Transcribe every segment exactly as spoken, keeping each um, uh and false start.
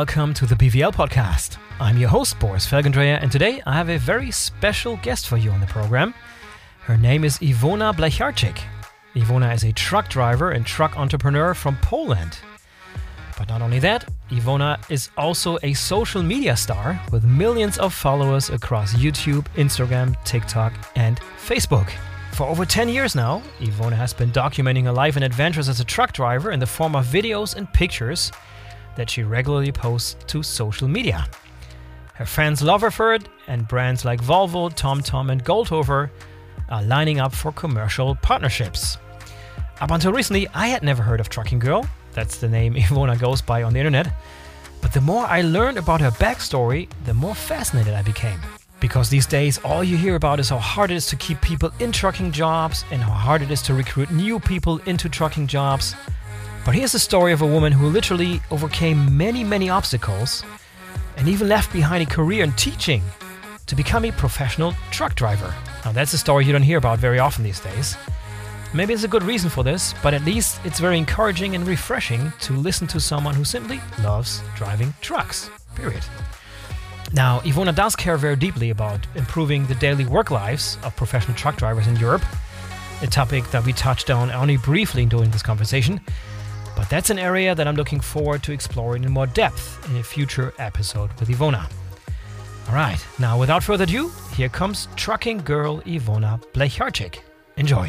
welcome to the B V L podcast. I'm your host, Boris Felgendreher, and today I have a very special guest for you on the program. Her name is Iwona Blecharczyk. Iwona is a truck driver and truck entrepreneur from Poland. But not only that, Iwona is also a social media star with millions of followers across YouTube, Instagram, TikTok, and Facebook. For over ten years now, Iwona has been documenting her life and adventures as a truck driver in the form of videos and pictures that she regularly posts to social media. Her fans love her for it, and brands like Volvo, TomTom, and Goldhofer are lining up for commercial partnerships. Up until recently, I had never heard of Trucking Girl. That's the name Iwona goes by on the internet. But the more I learned about her backstory, the more fascinated I became. Because these days, all you hear about is how hard it is to keep people in trucking jobs and how hard it is to recruit new people into trucking jobs. But here's the story of a woman who literally overcame many, many obstacles and even left behind a career in teaching to become a professional truck driver. Now, that's a story you don't hear about very often these days. Maybe there's a good reason for this, but at least it's very encouraging and refreshing to listen to someone who simply loves driving trucks, period. Now, Iwona does care very deeply about improving the daily work lives of professional truck drivers in Europe, a topic that we touched on only briefly during this conversation. But that's an area that I'm looking forward to exploring in more depth in a future episode with Iwona. All right, now without further ado, here comes Trucking Girl Iwona Blecharczyk. Enjoy.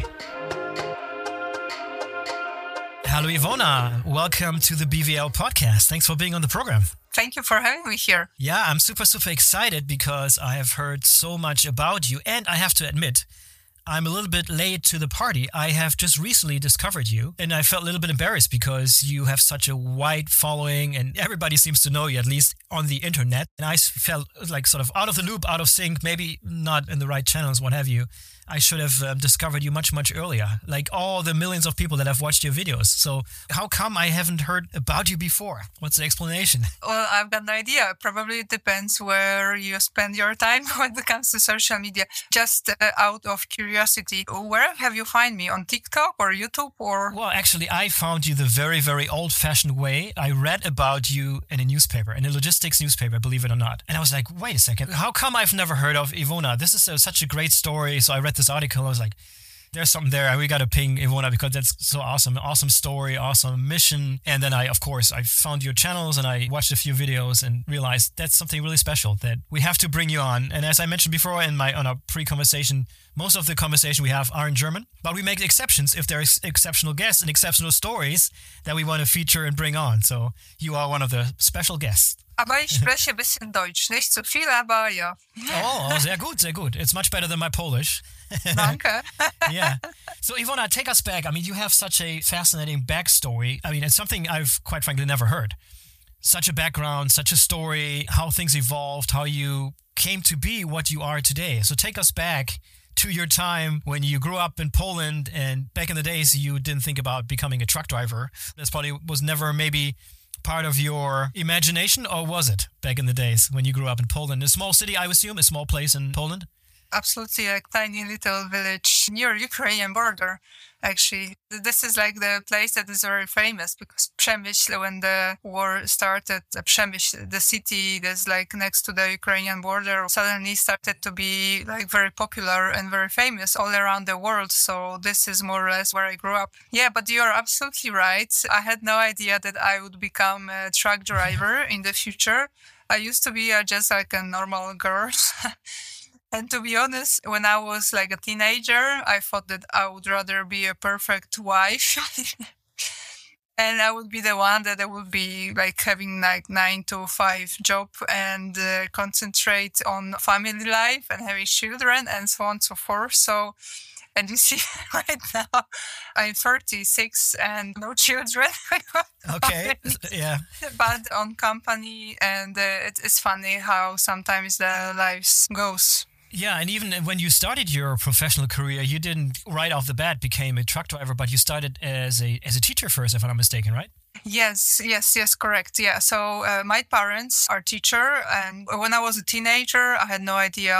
Hello, Iwona. Welcome to the B V L podcast. Thanks for being on the program. Thank you for having me here. Yeah, I'm super, super excited because I have heard so much about you. And I have to admit, I'm a little bit late to the party. I have just recently discovered you, and I felt a little bit embarrassed because you have such a wide following and everybody seems to know you, at least on the internet. And I felt like sort of out of the loop, out of sync, maybe not in the right channels, what have you. I should have um, discovered you much, much earlier, like all the millions of people that have watched your videos. So how come I haven't heard about you before? What's the explanation? Well, I've got no idea. Probably it depends where you spend your time when it comes to social media. Just uh, out of curiosity, where have you find me? On TikTok or YouTube or? Well, actually, I found you the very, very old-fashioned way. I read about you in a newspaper, in a logistics newspaper, believe it or not. And I was like, wait a second, how come I've never heard of Iwona? This is a, such a great story. So I read this article. I was like, there's something there. We got to ping Iwona because that's so awesome. Awesome story, awesome mission. And then I, of course, I found your channels and I watched a few videos and realized that's something really special that we have to bring you on. And as I mentioned before in my on our pre-conversation, most of the conversation we have are in German, but we make exceptions if there's exceptional guests and exceptional stories that we want to feature and bring on. So you are one of the special guests. Aber ich spreche ein bisschen Deutsch. Nicht so viel, aber ja. Oh, sehr gut, sehr gut. It's much better than my Polish. Danke. Yeah. So Iwona, take us back. I mean, you have such a fascinating backstory. I mean, it's something I've quite frankly never heard. Such a background, such a story, how things evolved, how you came to be what you are today. So take us back to your time when you grew up in Poland and back in the days you didn't think about becoming a truck driver. This probably was never maybe part of your imagination, or was it back in the days when you grew up in Poland? A small city, I assume, a small place in Poland? Absolutely, a tiny little village near Ukrainian border. Actually, this is like the place that is very famous because Przemyśl, when the war started, Przemyśl, the city that's like next to the Ukrainian border, suddenly started to be like very popular and very famous all around the world. So this is more or less where I grew up. Yeah, but you're absolutely right. I had no idea that I would become a truck driver in the future. I used to be uh, just like a normal girl. And to be honest, when I was like a teenager, I thought that I would rather be a perfect wife. And I would be the one that I would be like having like nine to five job and uh, concentrate on family life and having children and so on and so forth. So, and you see right now, I'm thirty-six and no children. Okay, yeah. But on company, and uh, it is funny how sometimes the lives goes. Yeah, and even when you started your professional career, you didn't right off the bat became a truck driver, but you started as a as a teacher first, if I'm not mistaken, right? Yes, yes, yes, correct. Yeah, so uh, my parents are teacher, and when I was a teenager, I had no idea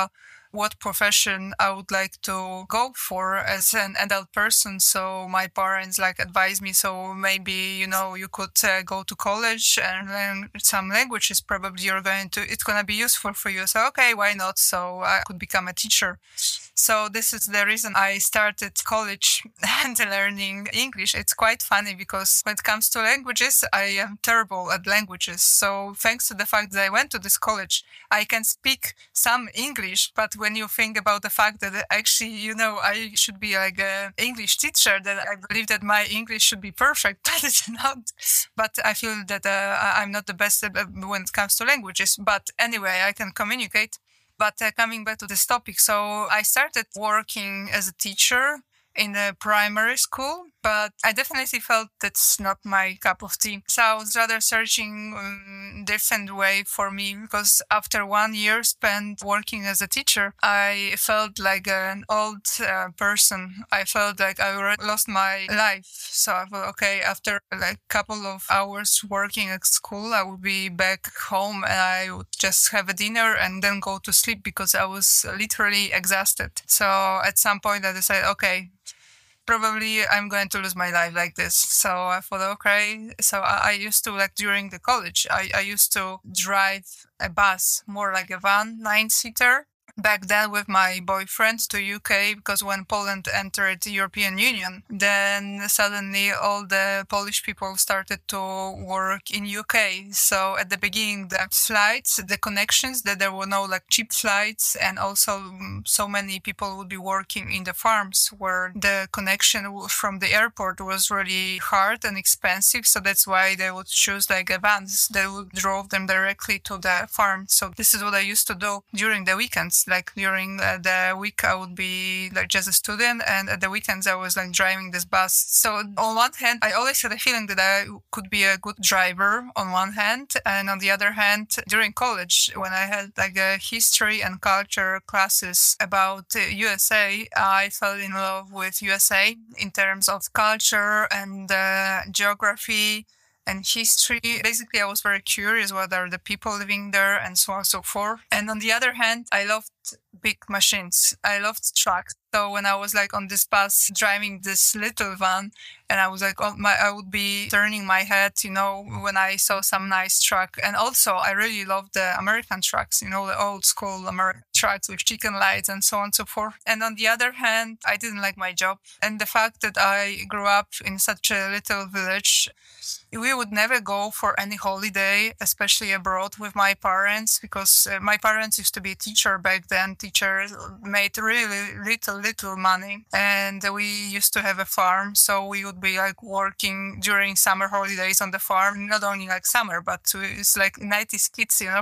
what profession I would like to go for as an adult person. So my parents like advised me, so maybe, you know, you could uh, go to college and learn some languages. Probably you're going to, it's going to be useful for you. So, okay, why not? So I could become a teacher. So this is the reason I started college and learning English. It's quite funny because when it comes to languages, I am terrible at languages. So thanks to the fact that I went to this college, I can speak some English. But when you think about the fact that actually, you know, I should be like an English teacher, that I believe that my English should be perfect, but it's not. But I feel that uh, I'm not the best when it comes to languages. But anyway, I can communicate. But uh, coming back to this topic, so I started working as a teacher in a primary school, but I definitely felt that's not my cup of tea. So I was rather searching a um, different way for me, because after one year spent working as a teacher, I felt like an old uh, person. I felt like I already lost my life. So I thought, okay, after like a couple of hours working at school, I would be back home and I would just have a dinner and then go to sleep because I was literally exhausted. So at some point I decided, okay, probably I'm going to lose my life like this. So I thought, okay. So I, I used to, like during the college, I, I used to drive a bus, more like a van, nine-seater. Back then with my boyfriend to U K, because when Poland entered the European Union, then suddenly all the Polish people started to work in U K. So at the beginning, the flights, the connections, that there were no like cheap flights, and also so many people would be working in the farms where the connection from the airport was really hard and expensive. So that's why they would choose like a vans that would drove them directly to the farm. So this is what I used to do during the weekends. Like during uh, the week, I would be like just a student, and at the weekends, I was like driving this bus. So on one hand, I always had a feeling that I could be a good driver on one hand, and on the other hand, during college, when I had like a history and culture classes about uh, U S A, I fell in love with U S A in terms of culture and uh, geography and history. Basically, I was very curious what are the people living there and so on and so forth. And on the other hand, I loved big machines. I loved trucks. So when I was like on this bus driving this little van, and I was like, oh, my, I would be turning my head, you know, when I saw some nice truck. And also, I really loved the American trucks, you know, the old school American trucks with chicken lights and so on and so forth. And on the other hand, I didn't like my job. And the fact that I grew up in such a little village, we would never go for any holiday, especially abroad, with my parents, because uh, my parents used to be a teacher back then. Teachers made really little, little money. And we used to have a farm, so we would be like working during summer holidays on the farm, not only like summer, but it's like nineties kids, you know.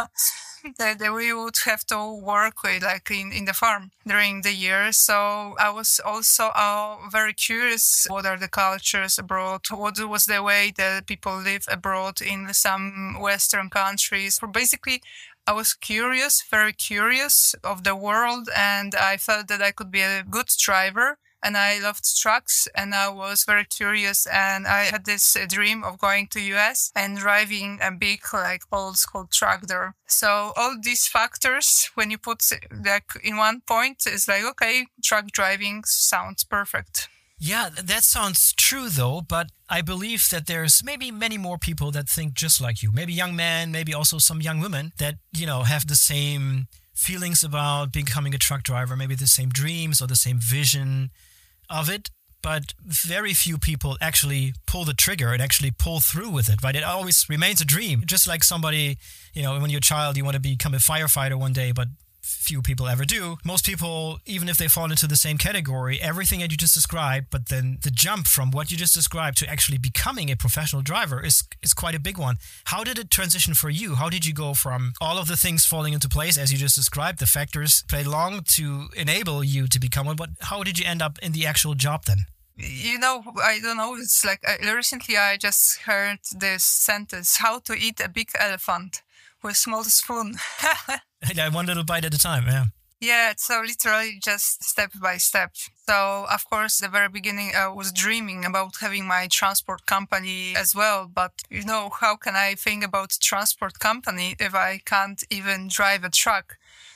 That we would have to work with like in, in the farm during the year. So I was also uh, very curious, what are the cultures abroad? What was the way that people live abroad in some Western countries? For basically, I was curious, very curious of the world, and I felt that I could be a good driver. And I loved trucks, and I was very curious, and I had this uh, dream of going to U S and driving a big, like, old school truck there. So all these factors, when you put like in one point, is like, okay, truck driving sounds perfect. Yeah, that sounds true though, but I believe that there's maybe many more people that think just like you. Maybe young men, maybe also some young women that, you know, have the same feelings about becoming a truck driver, maybe the same dreams or the same vision of it, but very few people actually pull the trigger and actually pull through with it, right? It always remains a dream. Just like somebody, you know, when you're a child, you want to become a firefighter one day, but few people ever do. Most people, even if they fall into the same category, everything that you just described, but then the jump from what you just described to actually becoming a professional driver is is quite a big one. How did it transition for you? How did you go from all of the things falling into place, as you just described, the factors played along to enable you to become one, but how did you end up in the actual job then? You know, I don't know, it's like I, recently I just heard this sentence, how to eat a big elephant with small spoon. Yeah, one little bite at a time, yeah. Yeah, so literally just step by step. So, of course, the very beginning, I was dreaming about having my transport company as well. But, you know, how can I think about transport company if I can't even drive a truck?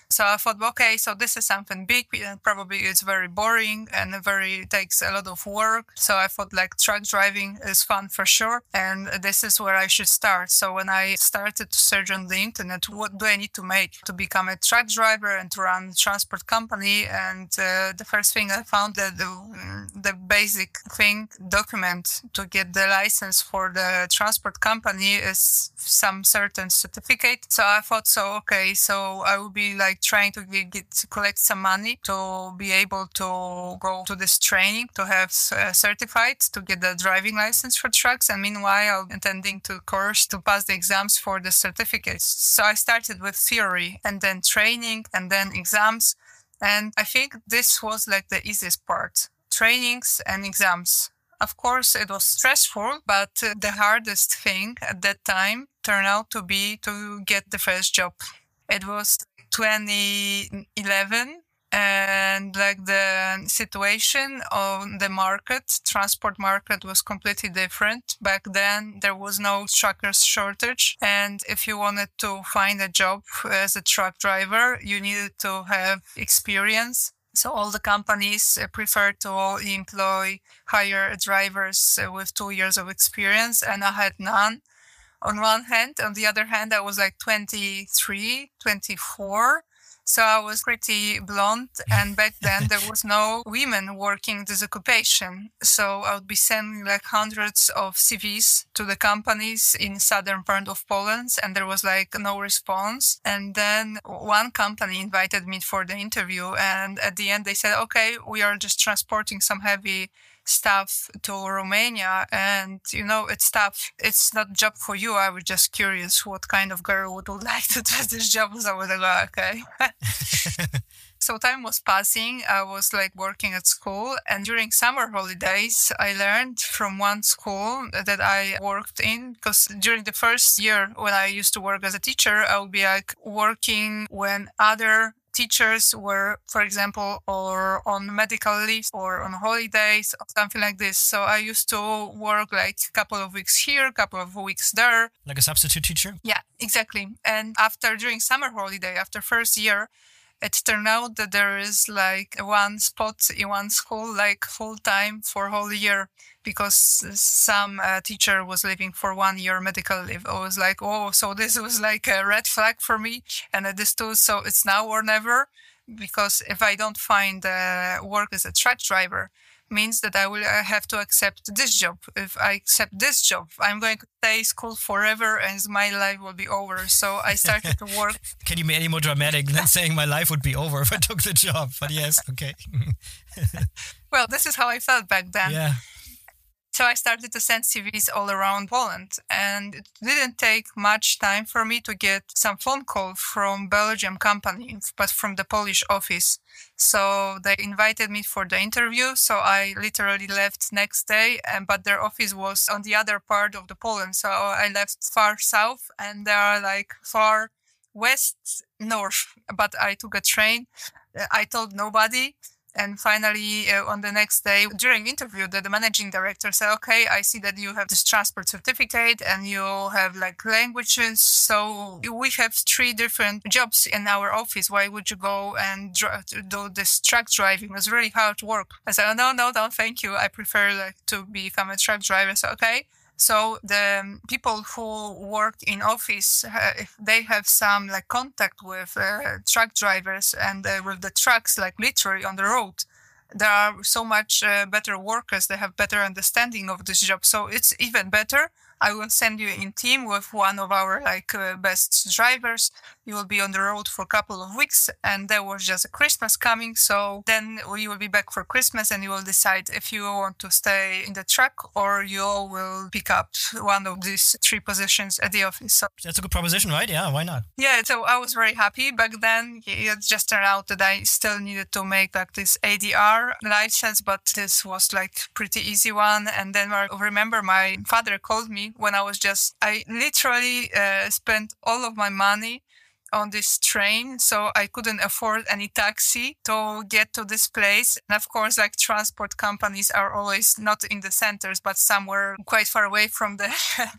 So I thought, okay, so this is something big, and probably it's very boring and very takes a lot of work. So I thought like truck driving is fun for sure, and this is where I should start. So when I started to search on the internet, what do I need to make to become a truck driver and to run a transport company? And uh, the first thing I found that the, the basic thing, document to get the license for the transport company is some certain certificate. So I thought, so okay, so I will be like trying to get, get to collect some money to be able to go to this training to have uh, certified to get the driving license for trucks, and meanwhile intending to course to pass the exams for the certificates. So I started with theory and then training and then exams, and I think this was like the easiest part, trainings and exams. Of course, it was stressful, but uh, the hardest thing at that time turned out to be to get the first job. It was twenty eleven, and like the situation on the market, transport market was completely different. Back then, there was no truckers shortage. And if you wanted to find a job as a truck driver, you needed to have experience. So all the companies prefer to employ, hire drivers with two years of experience, and I had none. On one hand, on the other hand, I was like twenty-three, twenty-four. So I was pretty blonde, and back then there was no women working this occupation. So I would be sending like hundreds of C Vs to the companies in southern part of Poland, and there was like no response. And then one company invited me for the interview, and at the end they said, okay, we are just transporting some heavy stuff to Romania, and you know, it's tough. It's not a job for you. I was just curious what kind of girl would, would like to do this job. So I was like, okay. So time was passing. I was like working at school, and during summer holidays, I learned from one school that I worked in, because during the first year when I used to work as a teacher, I would be like working when other teachers were, for example, or on medical leave or on holidays or something like this. So I used to work like a couple of weeks here, a couple of weeks there. Like a substitute teacher? Yeah, exactly. And after, during summer holiday, after first year, it turned out that there is like one spot in one school, like full time for whole year, because some uh, teacher was leaving for one year medical leave. I was like, oh, so this was like a red flag for me. And I understood, so it's now or never, because if I don't find uh, work as a truck driver, means that I will have to accept this job. If I accept this job, I'm going to stay school forever and my life will be over. So I started to work. Can you be any more dramatic than saying my life would be over if I took the job? But yes, okay. Well, this is how I felt back then. Yeah. So I started to send C Vs all around Poland, and it didn't take much time for me to get some phone call from Belgian company, but from the Polish office. So they invited me for the interview. So I literally left next day, and but their office was on the other part of the Poland. So I left far south, and they are like far west, north. But I took a train. I told nobody. And finally, uh, on the next day, during interview, the, the managing director said, okay, I see that you have this transport certificate and you have like languages. So we have three different jobs in our office. Why would you go and dr- do this truck driving? It's really hard work. I said, oh, no, no, no, thank you. I prefer like to become a truck driver. So, okay. So the people who work in office, uh, if they have some like contact with uh, truck drivers and uh, with the trucks, like literally on the road, there are so much uh, better workers. They have better understanding of this job. So it's even better. I will send you in team with one of our like uh, best drivers. You will be on the road for a couple of weeks, and there was just a Christmas coming. So then you will be back for Christmas, and you will decide if you want to stay in the truck or you will pick up one of these three positions at the office. So that's a good proposition, right? Yeah, why not? Yeah, so I was very happy back then. It just turned out that I still needed to make like this A D R license, but this was like pretty easy one. And then I remember my father called me when I was just, I literally uh, spent all of my money on this train, so I couldn't afford any taxi to get to this place. And of course, like transport companies are always not in the centers, but somewhere quite far away from the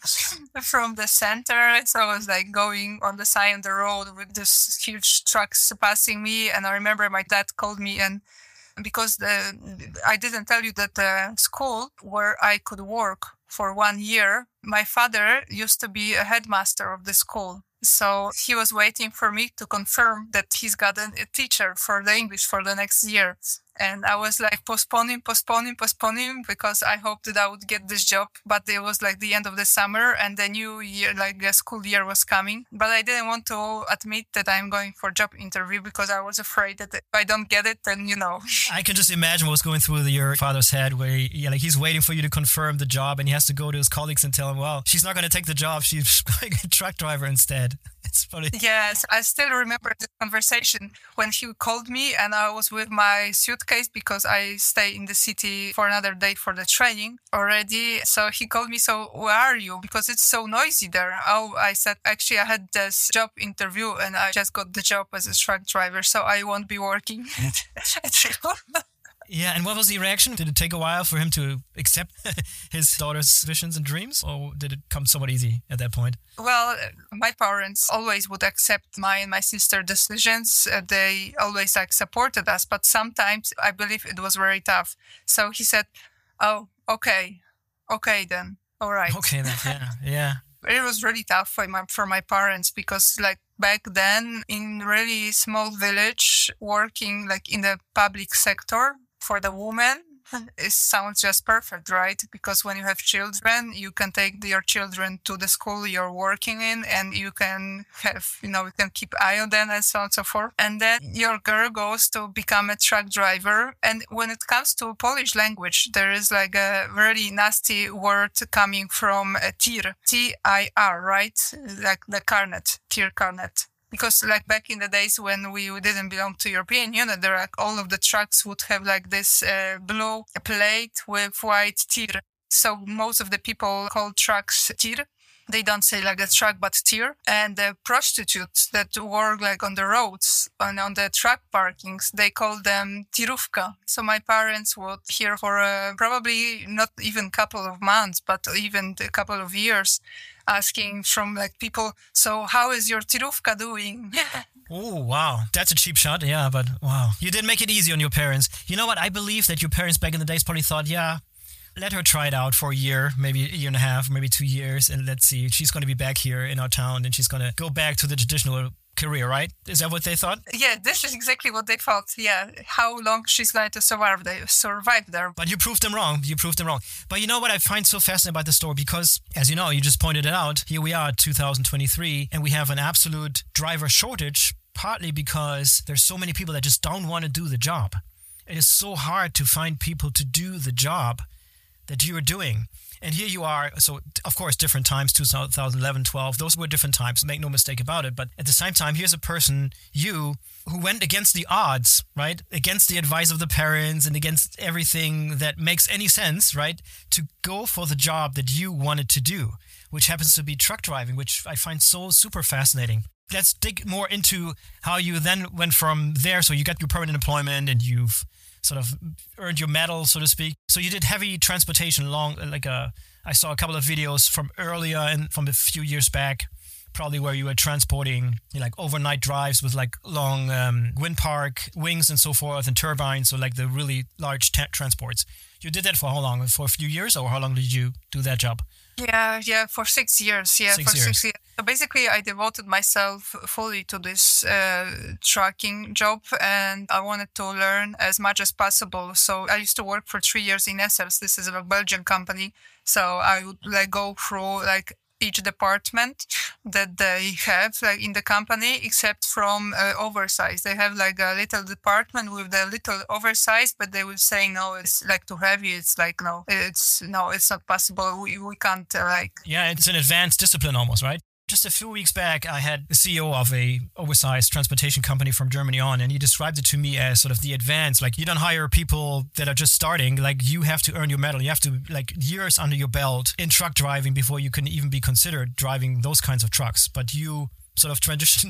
from the center. So I was like going on the side of the road with this huge trucks passing me. And I remember my dad called me, and because the I didn't tell you that the school where I could work for one year, my father used to be a headmaster of the school. So he was waiting for me to confirm that he's got a, a teacher for the English for the next year. And I was like postponing, postponing, postponing because I hoped that I would get this job. But it was like the end of the summer and the new year, like the school year was coming. But I didn't want to admit that I'm going for job interview because I was afraid that if I don't get it, then, you know. I can just imagine what was going through your father's head where he, yeah, like he's waiting for you to confirm the job and he has to go to his colleagues and tell him, well, she's not going to take the job. She's going a truck driver instead. It's funny. Yes, I still remember the conversation when he called me and I was with my suitcase because I stay in the city for another day for the training already. So he called me, so where are you? Because it's so noisy there. Oh, I said, actually, I had this job interview and I just got the job as a truck driver, so I won't be working at Renault. Yeah, and what was the reaction? Did it take a while for him to accept his daughter's visions and dreams, or did it come somewhat easy at that point? Well, my parents always would accept my and my sister's decisions. Uh, they always like supported us, but sometimes I believe it was very tough. So he said, "Oh, okay, okay then, all right." Okay then, yeah, yeah. It was really tough for my for my parents because like back then in really small village, working like in the public sector. For the woman, it sounds just perfect, right? Because when you have children, you can take your children to the school you're working in and you can have, you know, you can keep eye on them and so on and so forth. And then your girl goes to become a truck driver. And when it comes to Polish language, there is like a really nasty word coming from a tir, T I R, right? Like the carnet, tir carnet. Because like back in the days when we didn't belong to European Union, there like all of the trucks would have like this uh, blue plate with white tir. So most of the people call trucks tir. They don't say like a truck, but tir. And the prostitutes that work like on the roads and on the truck parkings, they call them tirówka. So my parents would hear for uh, probably not even a couple of months, but even a couple of years, asking from like people, so how is your tirówka doing? Oh, wow. That's a cheap shot. Yeah, but wow. You did make it easy on your parents. You know what? I believe that your parents back in the days probably thought, yeah, let her try it out for a year, maybe a year and a half, maybe two years. And let's see, she's going to be back here in our town and she's going to go back to the traditional career, right? Is that what they thought? Yeah, this is exactly what they thought. Yeah, how long she's going to survive there, survive there. But you proved them wrong. You proved them wrong. But you know what I find so fascinating about the story? Because, as you know, you just pointed it out, here we are, two thousand twenty-three, and we have an absolute driver shortage, partly because there's so many people that just don't want to do the job. It is so hard to find people to do the job that you are doing. And here you are, so of course, different times, two thousand eleven, twelve, those were different times, make no mistake about it. But at the same time, here's a person, you, who went against the odds, right? Against the advice of the parents and against everything that makes any sense, right? To go for the job that you wanted to do, which happens to be truck driving, which I find so super fascinating. Let's dig more into how you then went from there. So you got your permanent employment and you've sort of earned your medal, so to speak. So you did heavy transportation long, like a, I saw a couple of videos from earlier and from a few years back, probably where you were transporting you know, like overnight drives with like long um, wind park wings and so forth and turbines, so like the really large t- transports. You did that for how long? For a few years, or how long did you do that job? Yeah, yeah, for six years. Yeah, six for years. six years. So basically, I devoted myself fully to this uh, trucking job, and I wanted to learn as much as possible. So I used to work for three years in Essels. This is a Belgian company. So I would like go through like each department that they have like in the company, except from uh, oversize. They have like a little department with the little oversize, but they will say, no, it's like too heavy. It's like, no, it's no, it's not possible. We, we can't uh, like. Yeah, it's an advanced discipline almost, right? Just a few weeks back, I had the C E O of a oversized transportation company from Germany on, and he described it to me as sort of the advanced. Like, you don't hire people that are just starting. Like, you have to earn your medal. You have to, like, years under your belt in truck driving before you can even be considered driving those kinds of trucks. But you sort of transitioned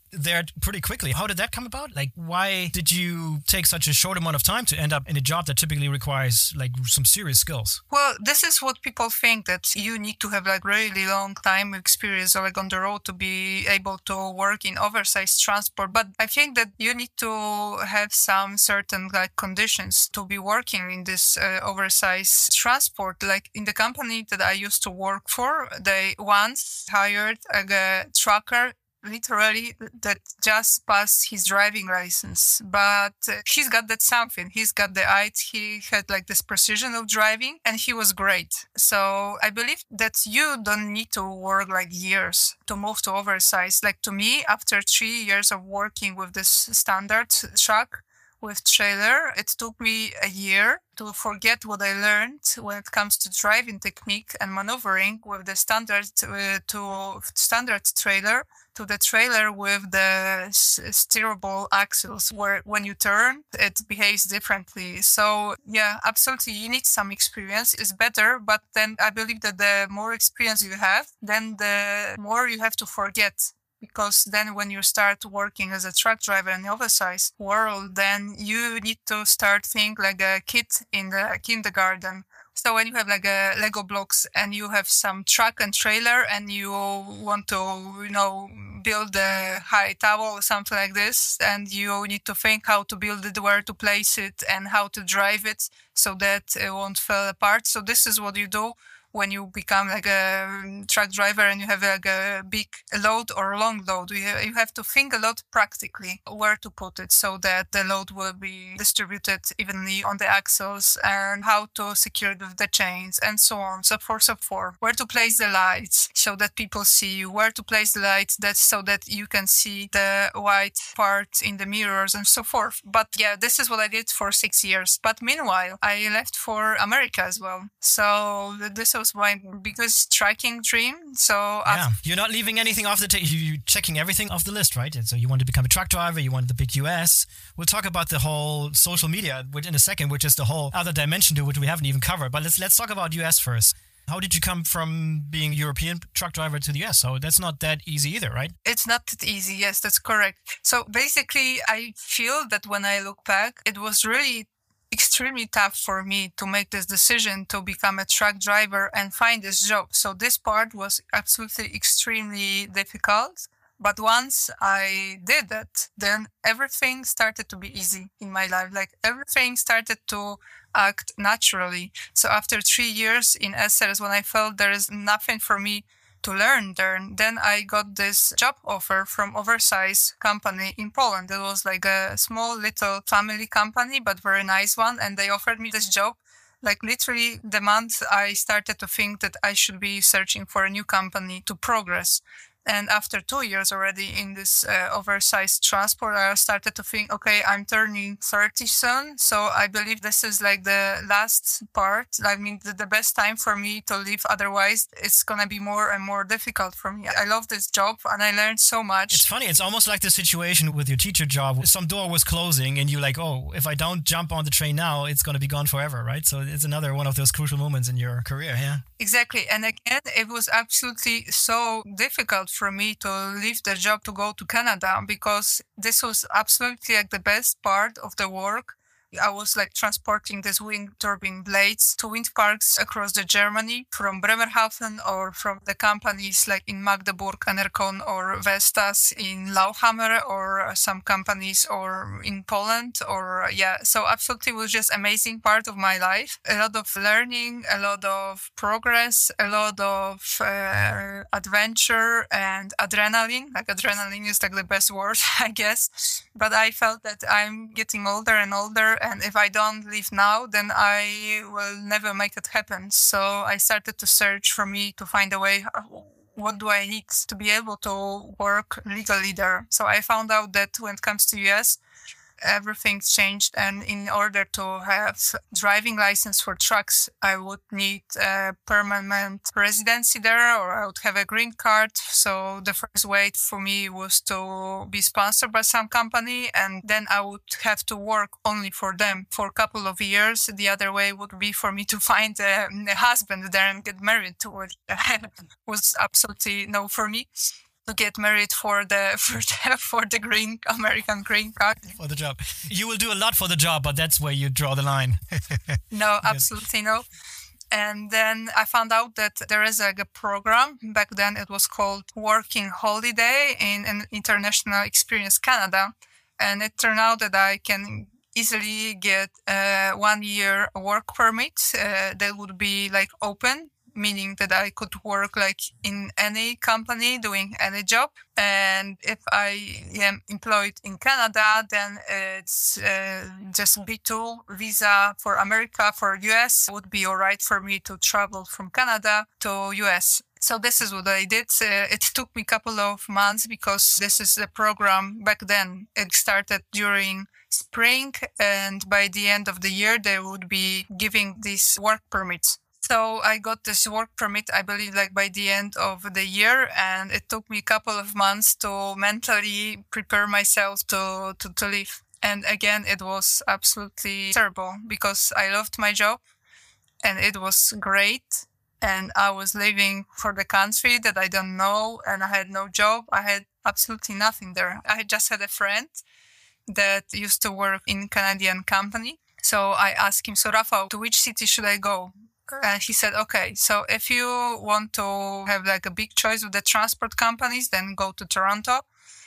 there pretty quickly. How did that come about? Like, why did you take such a short amount of time to end up in a job that typically requires like some serious skills? Well, this is what people think, that you need to have like really long time experience or like on the road to be able to work in oversized transport. But I think that you need to have some certain like conditions to be working in this uh, oversized transport. Like in the company that I used to work for, they once hired a trucker literally that just passed his driving license, but uh, he's got that something. He's got the eye. He had like this precision of driving, and he was great. So I believe that you don't need to work like years to move to oversize. Like to me, after three years of working with this standard truck with trailer, it took me a year to forget what I learned when it comes to driving technique and maneuvering with the standard uh, to standard trailer to the trailer with the steerable axles, where when you turn, it behaves differently. So yeah, absolutely, you need some experience. It's better, but then I believe that the more experience you have, then the more you have to forget. Because then when you start working as a truck driver in the oversized world, then you need to start think like a kid in the kindergarten. So when you have like a Lego blocks and you have some truck and trailer and you want to, you know, build a high tower or something like this, and you need to think how to build it, where to place it, and how to drive it so that it won't fall apart. So this is what you do when you become like a truck driver and you have like a big load or long load. You have to think a lot practically where to put it so that the load will be distributed evenly on the axles, and how to secure it with the chains and so on, so forth, so forth. Where to place the lights so that people see you, where to place the lights that so that you can see the white part in the mirrors and so forth. But yeah, this is what I did for six years. But meanwhile, I left for America as well. So this was my biggest trucking dream. So yeah, you're not leaving anything off the table. You're checking everything off the list, right? And so you want to become a truck driver. You want the big U S. We'll talk about the whole social media in a second, which is the whole other dimension to which we haven't even covered. But let's let's talk about U S first. How did you come from being a European truck driver to the U S? So that's not that easy either, right? It's not that easy. Yes, that's correct. So basically, I feel that when I look back, it was really extremely tough for me to make this decision to become a truck driver and find this job. So this part was absolutely extremely difficult. But once I did that, then everything started to be easy in my life. Like everything started to act naturally. So after three years in S L S, when I felt there is nothing for me to learn there, then I got this job offer from oversized company in Poland. It was like a small little family company, but very nice one. And they offered me this job. Like literally the month I started to think that I should be searching for a new company to progress. And after two years already in this uh, oversized transport, I started to think, okay, I'm turning thirty soon. So I believe this is like the last part. I mean, the, the best time for me to leave. Otherwise, it's going to be more and more difficult for me. I love this job and I learned so much. It's funny. It's almost like the situation with your teacher job. Some door was closing and you're like, oh, if I don't jump on the train now, it's going to be gone forever, right? So it's another one of those crucial moments in your career, yeah? Exactly. And again, it was absolutely so difficult for me to leave the job to go to Canada, because this was absolutely like the best part of the work. I was like transporting these wind turbine blades to wind parks across the Germany, from Bremerhaven or from the companies like in Magdeburg, Enercon or Vestas in Lauchhammer, or some companies or in Poland, or yeah. So absolutely was just amazing part of my life. A lot of learning, a lot of progress, a lot of uh, adventure and adrenaline. Like adrenaline is like the best word, I guess. But I felt that I'm getting older and older, and if I don't leave now, then I will never make it happen. So I started to search for me to find a way. What do I need to be able to work legally there? So I found out that when it comes to U S, everything's changed, and in order to have driving license for trucks, I would need a permanent residency there, or I would have a green card. So the first way for me was to be sponsored by some company, and then I would have to work only for them for a couple of years. The other way would be for me to find a, a husband there and get married to it. Was absolutely no for me. to get married for the for the, for the green American green card. For the job. You will do a lot for the job, but that's where you draw the line. No, absolutely no. And then I found out that there is a, a program. Back then it was called Working Holiday in an International Experience Canada. And it turned out that I can easily get a one year work permit uh, that would be like open, meaning that I could work like in any company doing any job. And if I am employed in Canada, then it's uh, just B two visa for America, for U S would be all right for me to travel from Canada to U S. So this is what I did. Uh, it took me a couple of months because this is the program back then. It started during spring, and by the end of the year, they would be giving these work permits. So I got this work permit, I believe, like by the end of the year, and it took me a couple of months to mentally prepare myself to, to, to leave. And again, it was absolutely terrible because I loved my job and it was great. And I was living for the country that I don't know, and I had no job. I had absolutely nothing there. I just had a friend that used to work in Canadian company. So I asked him, so Rafał, to which city should I go? And he said, okay, so if you want to have like a big choice with the transport companies, then go to Toronto,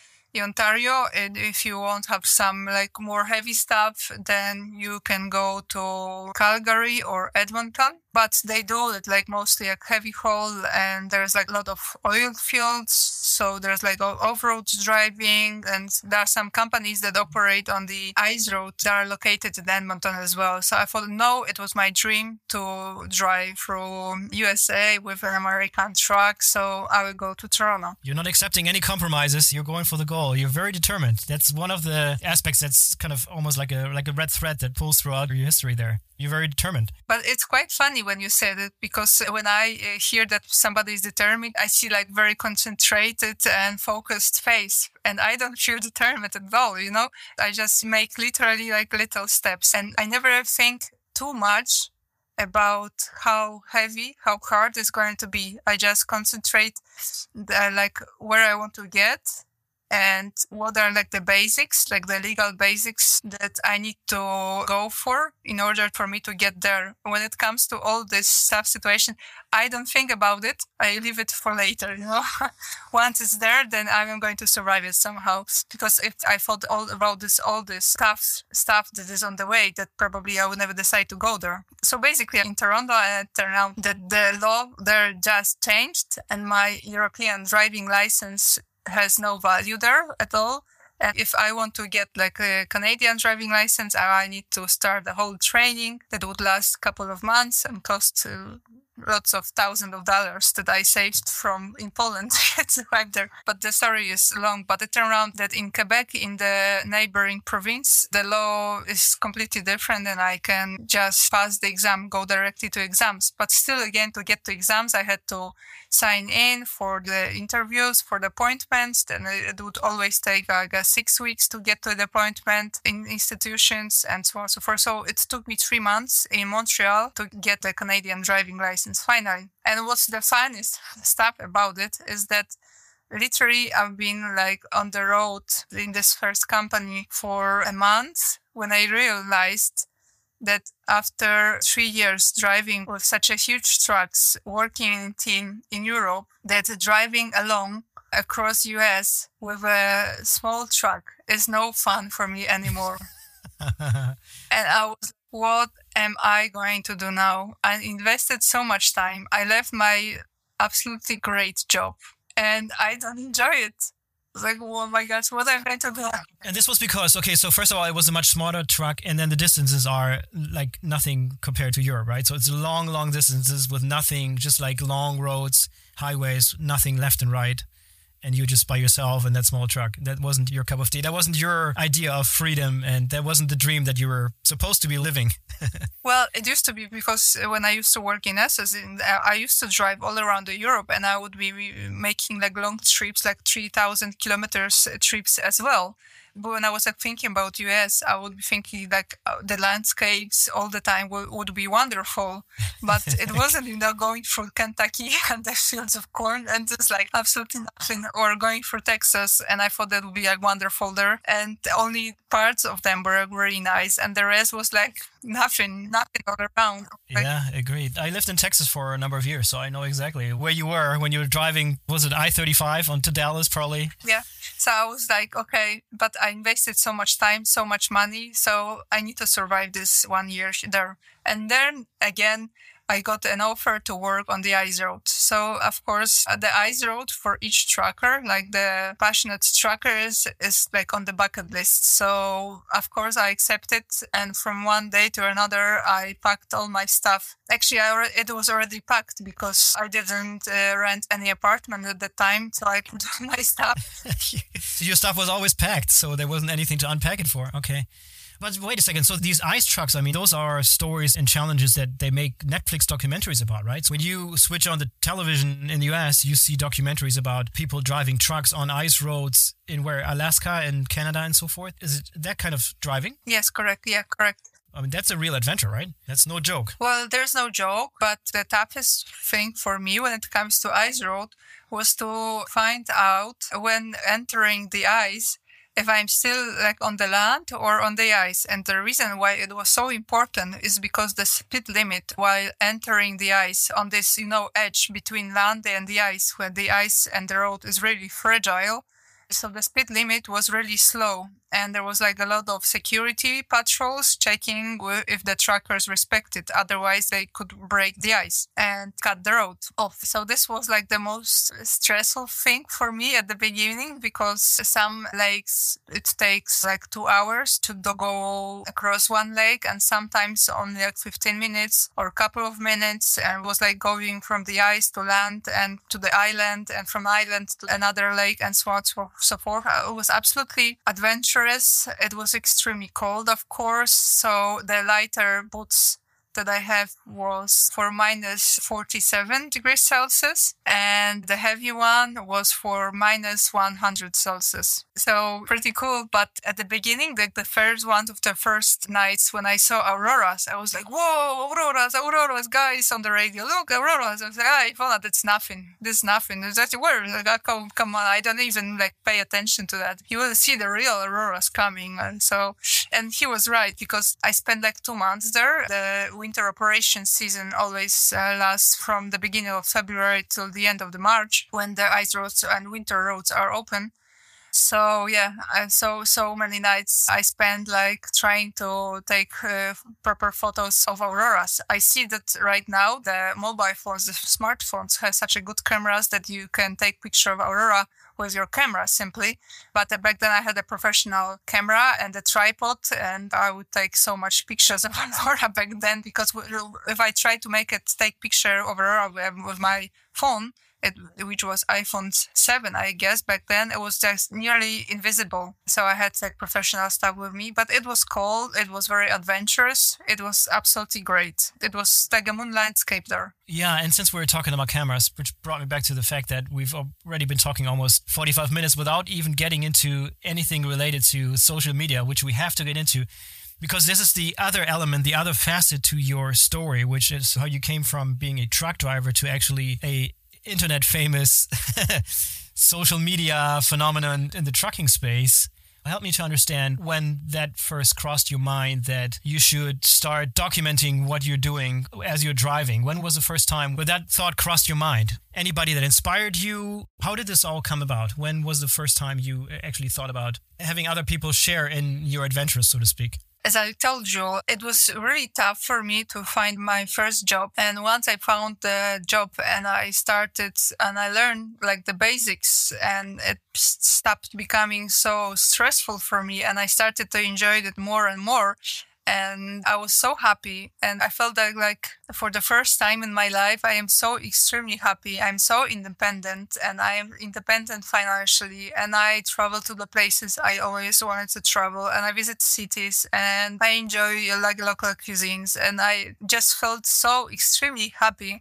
Ontario. And if you want to have some like more heavy stuff, then you can go to Calgary or Edmonton. But they do it like mostly like heavy haul, and there's like a lot of oil fields. So there's like off-road driving, and there are some companies that operate on the ice road that are located in Edmonton as well. So I thought, no, it was my dream to drive through U S A with an American truck. So I will go to Toronto. You're not accepting any compromises. You're going for the goal. You're very determined. That's one of the aspects that's kind of almost like a like a red thread that pulls throughout your history there. You're very determined. But it's quite funny when you said it, because when I uh, hear that somebody is determined, I see like very concentrated and focused face. And I don't feel determined at all, you know? I just make literally like little steps. And I never think too much about how heavy, how hard it's going to be. I just concentrate uh, like where I want to get and what are like the basics, like the legal basics that I need to go for in order for me to get there. When it comes to all this tough situation, I don't think about it. I leave it for later, you know. Once it's there, then I'm going to survive it somehow. Because if I thought all about this, all this tough stuff that is on the way, that probably I would never decide to go there. So basically in Toronto, it turned out that the law there just changed, and my European driving license has no value there at all. And if I want to get like a Canadian driving license, I need to start the whole training that would last a couple of months and cost uh, lots of thousands of dollars that I saved from in Poland to drive there. But the story is long. But it turned out that in Quebec, in the neighboring province, the law is completely different, and I can just pass the exam, go directly to exams. But still, again, to get to exams, I had to sign in for the interviews, for the appointments. Then it would always take like uh, six weeks to get to the appointment in institutions and so on and so forth. So it took me three months in Montreal to get the Canadian driving license finally. And what's the funniest stuff about it is that literally I've been like on the road in this first company for a month when I realized that after three years driving with such a huge trucks, working in team in Europe, that driving alone across U S with a small truck is no fun for me anymore. And I was, what am I going to do now? I invested so much time. I left my absolutely great job and I don't enjoy it. It's like, oh my gosh, what am I going to do? And this was because, okay, so first of all, it was a much smaller truck, and then the distances are like nothing compared to Europe, right? So it's long, long distances with nothing, just like long roads, highways, nothing left and right. And you just by yourself in that small truck. That wasn't your cup of tea. That wasn't your idea of freedom, and that wasn't the dream that you were supposed to be living. Well, it used to be, because when I used to work in S S, I used to drive all around Europe, and I would be making like long trips, like three thousand kilometers trips as well. But when I was like, thinking about U S, I would be thinking like uh, the landscapes all the time would, would be wonderful. But it wasn't, you know, going through Kentucky and the fields of corn and just like absolutely nothing, or going through Texas. And I thought that would be like wonderful there. And only parts of them were really nice. And the rest was like nothing, nothing all around. Like, yeah, agreed. I lived in Texas for a number of years, so I know exactly where you were when you were driving. Was it I thirty-five onto Dallas, probably? Yeah. So I was like, okay, but I invested so much time, so much money, so I need to survive this one year there. And then again, I got an offer to work on the ice road. So, of course, uh, the ice road for each trucker, like the passionate truckers, is like on the bucket list. So, of course, I accepted. And from one day to another, I packed all my stuff. Actually, I already, it was already packed because I didn't uh, rent any apartment at the time. So I put all my stuff. Your stuff was always packed, so there wasn't anything to unpack it for. Okay. But wait a second. So these ice trucks, I mean, those are stories and challenges that they make Netflix documentaries about, right? So when you switch on the television in the U S, you see documentaries about people driving trucks on ice roads in where, Alaska and Canada and so forth. Is it that kind of driving? Yes, correct. Yeah, correct. I mean, that's a real adventure, right? That's no joke. Well, there's no joke, but the toughest thing for me when it comes to ice road was to find out when entering the ice if I'm still like on the land or on the ice. And the reason why it was so important is because the speed limit while entering the ice on this, you know, edge between land and the ice, where the ice and the road is really fragile. So the speed limit was really slow. And there was like a lot of security patrols checking if the truckers respected. Otherwise, they could break the ice and cut the road off. So this was like the most stressful thing for me at the beginning, because some lakes, it takes like two hours to go across one lake, and sometimes only like fifteen minutes or a couple of minutes. And it was like going from the ice to land and to the island, and from island to another lake, and so on and so forth. It was absolutely adventurous. It was extremely cold, of course, so the lighter boots that I have was for minus forty-seven degrees Celsius, and the heavy one was for minus one hundred Celsius. So pretty cool. But at the beginning, like the first one of the first nights when I saw auroras, I was like, whoa, auroras, auroras, guys on the radio, look, auroras. I was like, ah, Ivona, that's nothing. This is nothing. That's where, like, oh, come, come on, I don't even like pay attention to that. You will see the real auroras coming. And so, and he was right, because I spent like two months there. The winter operation season always uh, lasts from the beginning of February till the end of the March, when the ice roads and winter roads are open. So yeah, I, so so many nights I spent like trying to take uh, proper photos of auroras. I see that right now the mobile phones, the smartphones, have such a good cameras that you can take picture of aurora with your camera simply. But uh, back then I had a professional camera and a tripod, and I would take so much pictures of aurora back then, because if I tried to make it take picture of aurora with my phone, It, which was iPhone seven, I guess, back then, it was just nearly invisible. So I had like professional stuff with me, but it was cold. It was very adventurous. It was absolutely great. It was like a moon landscape there. Yeah, and since we were talking about cameras, which brought me back to the fact that we've already been talking almost forty-five minutes without even getting into anything related to social media, which we have to get into. Because this is the other element, the other facet to your story, which is how you came from being a truck driver to actually a internet famous social media phenomenon in the trucking space. Help me to understand when that first crossed your mind that you should start documenting what you're doing as you're driving. When was the first time where that thought crossed your mind? Anybody that inspired you? How did this all come about? When was the first time you actually thought about having other people share in your adventures, so to speak? As I told you, it was really tough for me to find my first job. And once I found the job and I started and I learned like the basics, and it stopped becoming so stressful for me, and I started to enjoy it more and more. And I was so happy, and I felt that like for the first time in my life, I am so extremely happy. I'm so independent, and I am independent financially, and I travel to the places I always wanted to travel, and I visit cities, and I enjoy like local cuisines, and I just felt so extremely happy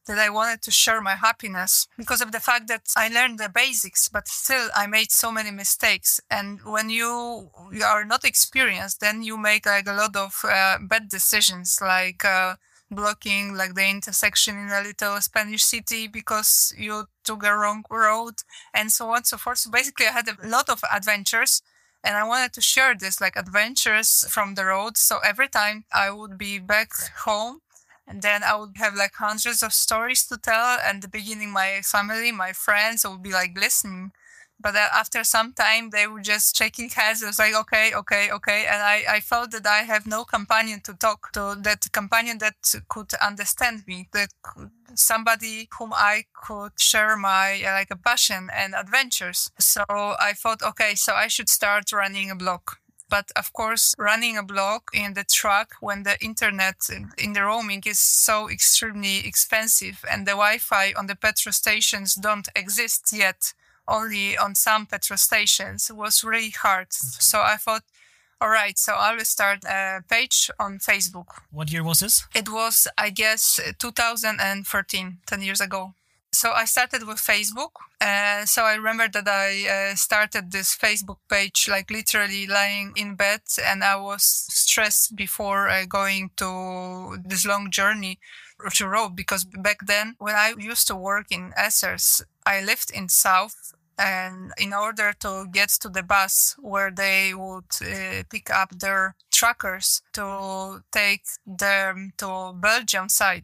that I wanted to share my happiness because of the fact that I learned the basics, but still I made so many mistakes. And when you, you are not experienced, then you make like a lot of uh, bad decisions, like uh, blocking like the intersection in a little Spanish city because you took a wrong road and so on and so forth. So basically I had a lot of adventures. And I wanted to share this, like adventures from the road. So every time I would be back home, and then I would have like hundreds of stories to tell. And the beginning, my family, my friends would be like listening. But after some time, they were just shaking heads. It was like, okay, okay, okay. And I, I felt that I have no companion to talk to, that companion that could understand me, that somebody whom I could share my uh, like a passion and adventures. So I thought, okay, so I should start running a blog. But of course, running a blog in the truck when the internet in the roaming is so extremely expensive and the Wi-Fi on the petrol stations don't exist yet, only on some petrol stations, was really hard. So I thought, all right, so I will start a page on Facebook. What year was this? It was, I guess, two thousand thirteen, ten years ago. So I started with Facebook. Uh, so I remember that I uh, started this Facebook page, like literally lying in bed, and I was stressed before uh, going to this long journey to road, because back then when I used to work in Essers, I lived in South. And in order to get to the bus where they would uh, pick up their truckers to take them to Belgium side.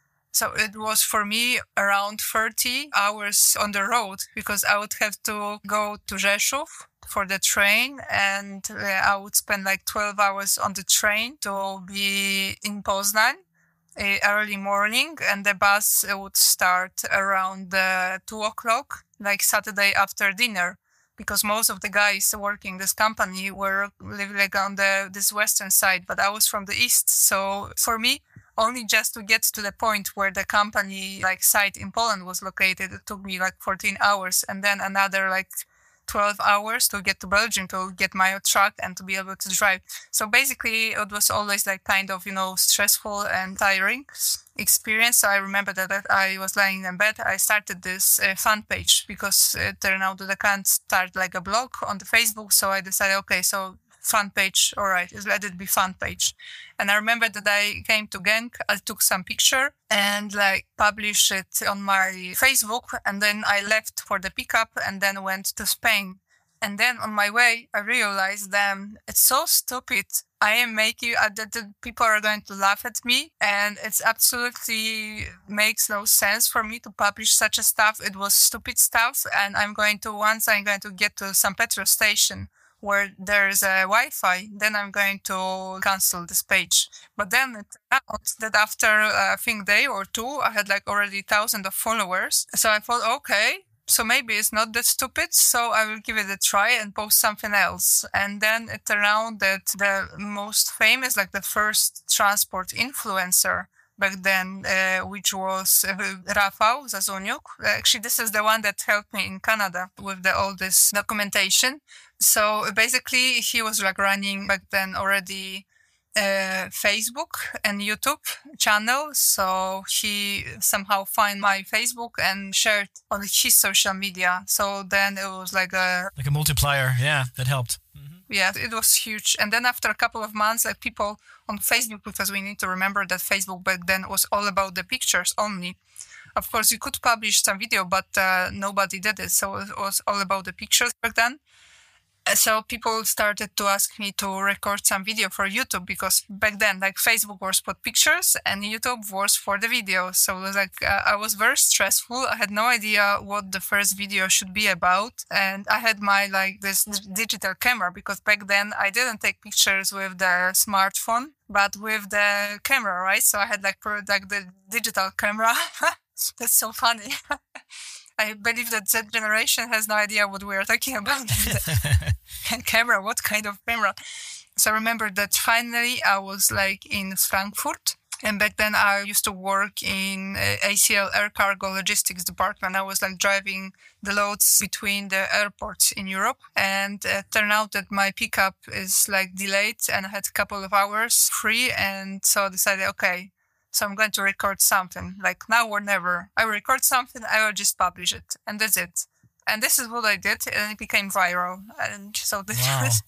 So it was for me around thirty hours on the road, because I would have to go to Rzeszów for the train, and uh, I would spend like twelve hours on the train to be in Poznań uh, early morning, and the bus would start around uh, two o'clock, like Saturday after dinner, because most of the guys working this company were living like on the this western side, but I was from the east. So for me, only just to get to the point where the company like site in Poland was located, it took me like fourteen hours, and then another like twelve hours to get to Belgium to get my truck and to be able to drive. So basically it was always like kind of, you know, stressful and tiring experience. So I remember that, that I was lying in bed. I started this uh, fan page because it turned out that I can't start like a blog on the Facebook. So I decided, okay, so fan page, all right, let it be fan page. And I remember that I came to Genk, I took some picture and like published it on my Facebook, and then I left for the pickup and then went to Spain. And then on my way, I realized, damn, it's so stupid. I am making, uh, that the people are going to laugh at me, and it's absolutely makes no sense for me to publish such a stuff. It was stupid stuff, and I'm going to, once I'm going to get to some petrol station where there's a Wi-Fi, then I'm going to cancel this page. But then it turned out that after uh, I think day or two, I had like already thousands of followers. So I thought, okay, so maybe it's not that stupid, so I will give it a try and post something else. And then it turned out that the most famous, like the first transport influencer back then, uh, which was uh, Rafał Zazoniuk. Actually, this is the one that helped me in Canada with the, all this documentation. So basically, he was like running back then already uh, Facebook and YouTube channel. So he somehow found my Facebook and shared on his social media. So then it was like a... Like a multiplier, yeah, that helped. Mm-hmm. Yeah, it was huge. And then after a couple of months, like people on Facebook, because we need to remember that Facebook back then was all about the pictures only. Of course, you could publish some video, but uh, nobody did it. So it was all about the pictures back then. So people started to ask me to record some video for YouTube, because back then, like Facebook was for pictures and YouTube was for the video. So it was like, uh, I was very stressful. I had no idea what the first video should be about. And I had my, like this digital camera, because back then I didn't take pictures with the smartphone, but with the camera, right? So I had like, like the digital camera. That's so funny. I believe that that generation has no idea what we are talking about. Camera, what kind of camera? So I remember that finally I was like in Frankfurt. And back then I used to work in A C L Air Cargo Logistics Department. I was like driving the loads between the airports in Europe. And it turned out that my pickup is like delayed and I had a couple of hours free. And so I decided, okay, So I'm going to record something like now or never. I will record something, I will just publish it, and that's it. And this is what I did, and it became viral. And so this Wow. was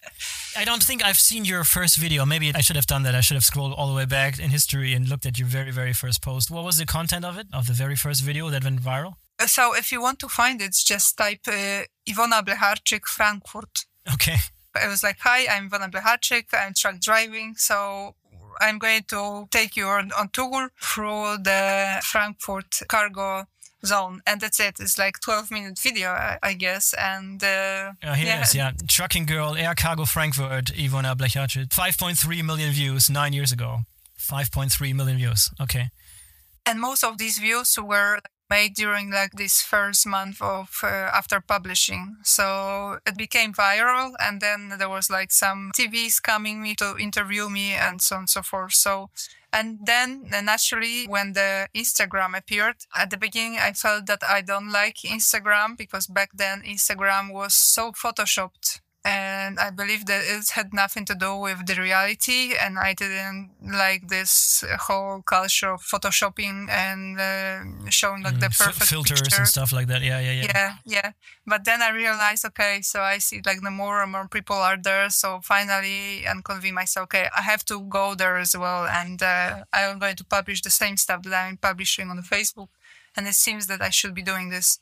I don't think I've seen your first video. Maybe I should have done that. I should have scrolled all the way back in history and looked at your very, very first post. What was the content of it, of the very first video that went viral? So if you want to find it, just type uh, Iwona Blecharczyk Frankfurt. Okay. I was like, hi, I'm Iwona Blecharczyk, I'm truck driving, so I'm going to take you on, on tour through the Frankfurt cargo zone. And that's it. It's like twelve minute video, I, I guess. And uh, Uh, here yeah. it is, yeah. Trucking Girl, Air Cargo Frankfurt, Iwona Blecharczyk. five point three million views nine years ago. five point three million views. Okay. And most of these views were made during like this first month of uh, after publishing. So it became viral, and then there was like some T Vs coming me to interview me and so on and so forth. So, and then uh, naturally when the Instagram appeared, at the beginning I felt that I don't like Instagram because back then Instagram was so photoshopped. And I believe that it had nothing to do with the reality, and I didn't like this whole culture of photoshopping and uh, showing like Mm, the f- perfect filters picture. and stuff like that. Yeah, yeah, yeah. Yeah, yeah. But then I realized, okay, so I see like the more and more people are there. So finally, and convince myself, okay, I have to go there as well, and uh, I'm going to publish the same stuff that I'm publishing on the Facebook, and it seems that I should be doing this.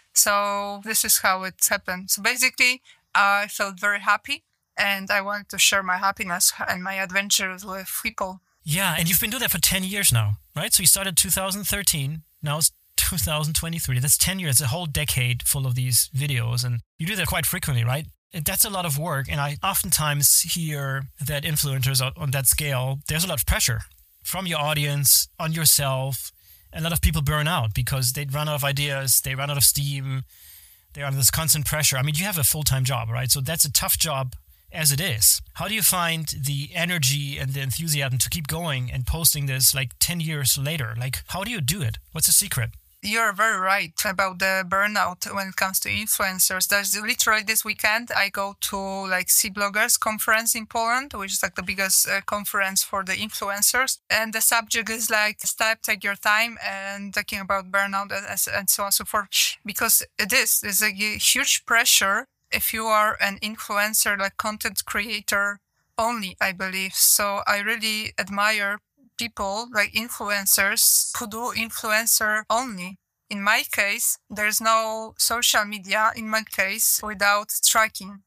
So this is how it happened. So basically, I felt very happy, and I wanted to share my happiness and my adventures with people. Yeah, and you've been doing that for ten years now, right? So you started two thousand thirteen, now it's two thousand twenty-three. That's ten years, a whole decade full of these videos, and you do that quite frequently, right? That's a lot of work, and I oftentimes hear that influencers on- on that scale, there's a lot of pressure from your audience, on yourself. A lot of people burn out because they run out of ideas, they run out of steam, they're under this constant pressure. I mean, you have a full-time job, right? So that's a tough job as it is. How do you find the energy and the enthusiasm to keep going and posting this like ten years later? Like, how do you do it? What's the secret? You're very right about the burnout when it comes to influencers. There's literally this weekend, I go to like Sea Bloggers conference in Poland, which is like the biggest uh, conference for the influencers. And the subject is like, step, take your time, and talking about burnout and, and so on and so forth. Because it is, there's a huge pressure if you are an influencer, like content creator only, I believe. So I really admire people like influencers who do influencer only. In my case, there's no social media in my case without tracking.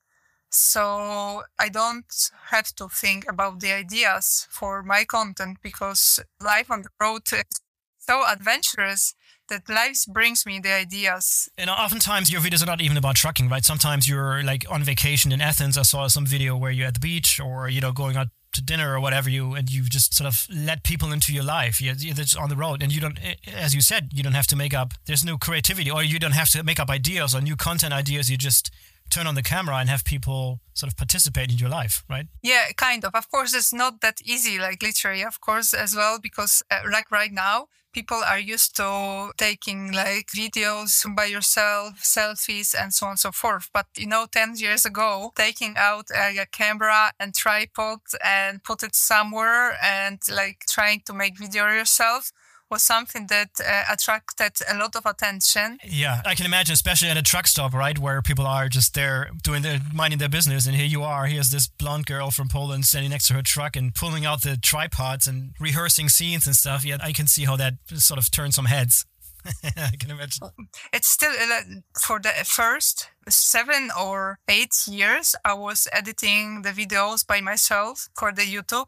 So I don't have to think about the ideas for my content because life on the road is so adventurous that life brings me the ideas. And oftentimes your videos are not even about trucking, right? Sometimes you're like on vacation in Athens. I saw some video where you're at the beach or, you know, going out to dinner or whatever, you and you just sort of let people into your life. You're, you're just on the road, and you don't, as you said, you don't have to make up. There's no creativity, or you don't have to make up ideas or new content ideas. You just turn on the camera and have people sort of participate in your life, right? Yeah, kind of. Of course, it's not that easy, like literally, of course, as well, because uh, like right now, people are used to taking like videos by yourself, selfies, and so on and so forth. But, you know, ten years ago, taking out uh, a camera and tripod and put it somewhere and like trying to make video yourself was something that uh, attracted a lot of attention. Yeah, I can imagine, especially at a truck stop, right, where people are just there doing their, minding their business, and here you are, here's this blonde girl from Poland standing next to her truck and pulling out the tripods and rehearsing scenes and stuff. Yeah, I can see how that sort of turns some heads. I can imagine. It's still, uh, for the first seven or eight years, I was editing the videos by myself for the YouTube.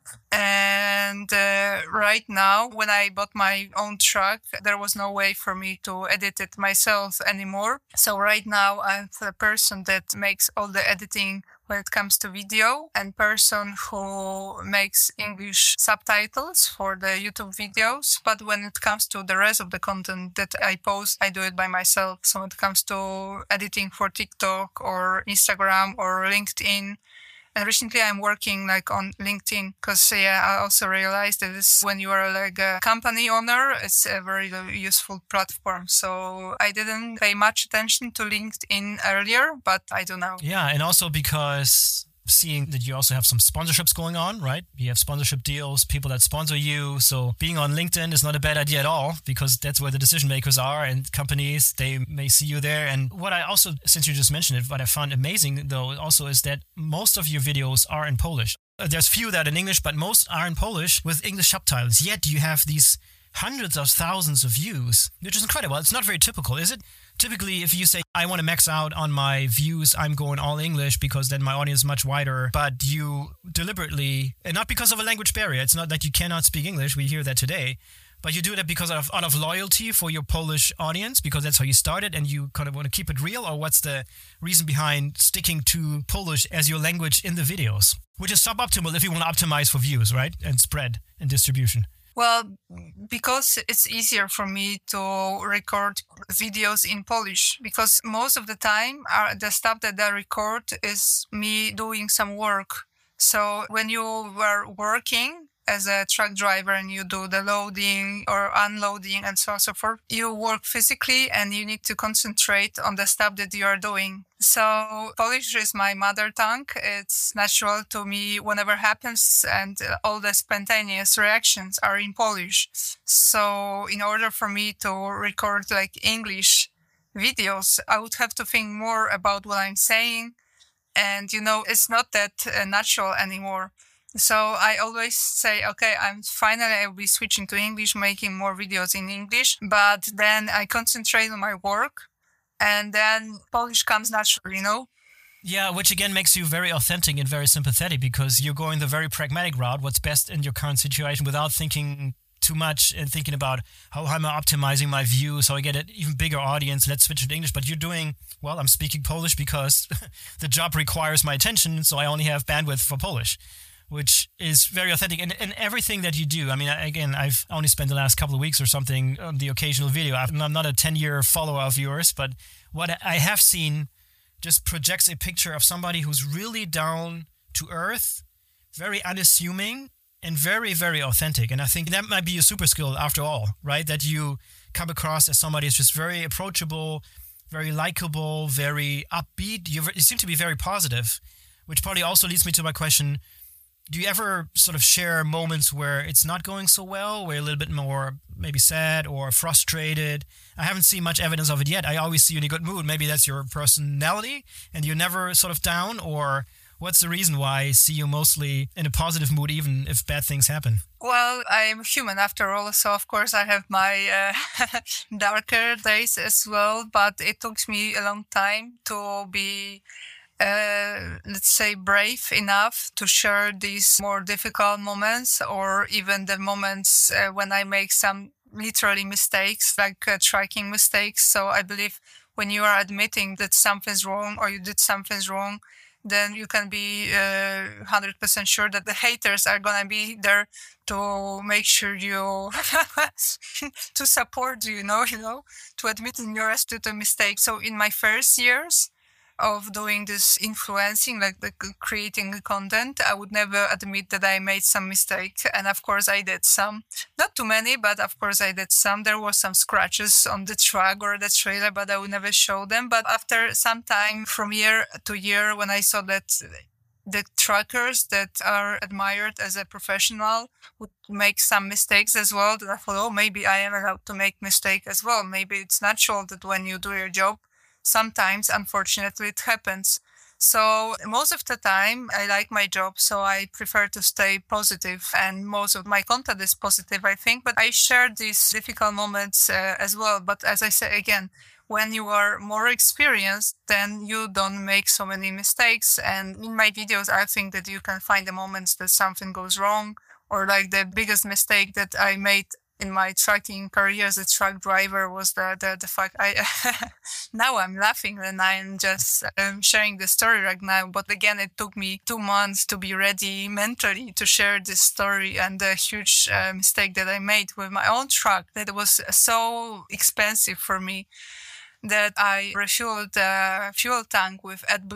And uh, right now, when I bought my own truck, there was no way for me to edit it myself anymore. So right now, I'm the person that makes all the editing when it comes to video, and person who makes English subtitles for the YouTube videos. But when it comes to the rest of the content that I post, I do it by myself. So when it comes to editing for TikTok or Instagram or LinkedIn, and recently I'm working like on LinkedIn because yeah, I also realized that this, when you are like a company owner, it's a very useful platform. So I didn't pay much attention to LinkedIn earlier, but I do now. Yeah, and also because seeing that you also have some sponsorships going on, right? You have sponsorship deals, people that sponsor you. So being on LinkedIn is not a bad idea at all, because that's where the decision makers are, and companies, they may see you there. And what I also, since you just mentioned it, what I found amazing though also is that most of your videos are in Polish. There's few that are in English, but most are in Polish with English subtitles. Yet you have these hundreds of thousands of views, which is incredible. It's not very typical, is it? Typically, if you say, I want to max out on my views, I'm going all English because then my audience is much wider. But you deliberately, and not because of a language barrier, it's not that you cannot speak English, we hear that today, but you do that because of, out of loyalty for your Polish audience, because that's how you started and you kind of want to keep it real? Or what's the reason behind sticking to Polish as your language in the videos? Which is suboptimal if you want to optimize for views, right? And spread and distribution. Well, because it's easier for me to record videos in Polish, because most of the time uh, the stuff that I record is me doing some work. So when you were working as a truck driver and you do the loading or unloading and so on and so forth, you work physically and you need to concentrate on the stuff that you are doing. So Polish is my mother tongue. It's natural to me whenever happens, and all the spontaneous reactions are in Polish. So in order for me to record like English videos, I would have to think more about what I'm saying. And, you know, it's not that uh, natural anymore. So I always say, okay, I'm finally I'll be switching to English, making more videos in English, but then I concentrate on my work, and then Polish comes naturally, you know? Yeah, which again makes you very authentic and very sympathetic, because you're going the very pragmatic route, what's best in your current situation, without thinking too much and thinking about how am I optimizing my view so I get an even bigger audience, let's switch to English. But you're doing, well, I'm speaking Polish because the job requires my attention, so I only have bandwidth for Polish, which is very authentic. And, and everything that you do, I mean, again, I've only spent the last couple of weeks or something on the occasional video. I'm not a ten-year follower of yours, but what I have seen just projects a picture of somebody who's really down to earth, very unassuming, and very, very authentic. And I think that might be a super skill after all, right? That you come across as somebody who's just very approachable, very likable, very upbeat. You, you seem to be very positive, which probably also leads me to my question. Do you ever sort of share moments where it's not going so well, where you're a little bit more maybe sad or frustrated? I haven't seen much evidence of it yet. I always see you in a good mood. Maybe that's your personality and you're never sort of down, or what's the reason why I see you mostly in a positive mood even if bad things happen? Well, I'm human after all, so of course I have my uh, darker days as well, but it took me a long time to be Uh, let's say brave enough to share these more difficult moments, or even the moments uh, when I make some literally mistakes, like uh, tracking mistakes. So I believe when you are admitting that something's wrong or you did something's wrong, then you can be uh, one hundred percent sure that the haters are going to be there to make sure you, to support you, you know, you know, to admitting your to the mistake. So in my first years of doing this influencing, like the creating content, I would never admit that I made some mistake. And of course I did some, not too many, but of course I did some. There were some scratches on the truck or the trailer, but I would never show them. But after some time, from year to year, when I saw that the truckers that are admired as a professional would make some mistakes as well, then I thought, oh, maybe I am allowed to make mistake as well. Maybe it's natural that when you do your job, sometimes, unfortunately, it happens. So most of the time, I like my job, so I prefer to stay positive, and most of my content is positive, I think. But I share these difficult moments uh, as well. But as I say again, when you are more experienced, then you don't make so many mistakes. And in my videos, I think that you can find the moments that something goes wrong, or like the biggest mistake that I made in my trucking career as a truck driver was the the, the fact I now I'm laughing and I'm just um, sharing the story right now. But again, it took me two months to be ready mentally to share this story, and the huge uh, mistake that I made with my own truck that was so expensive for me that I refueled the fuel tank with AdBlue,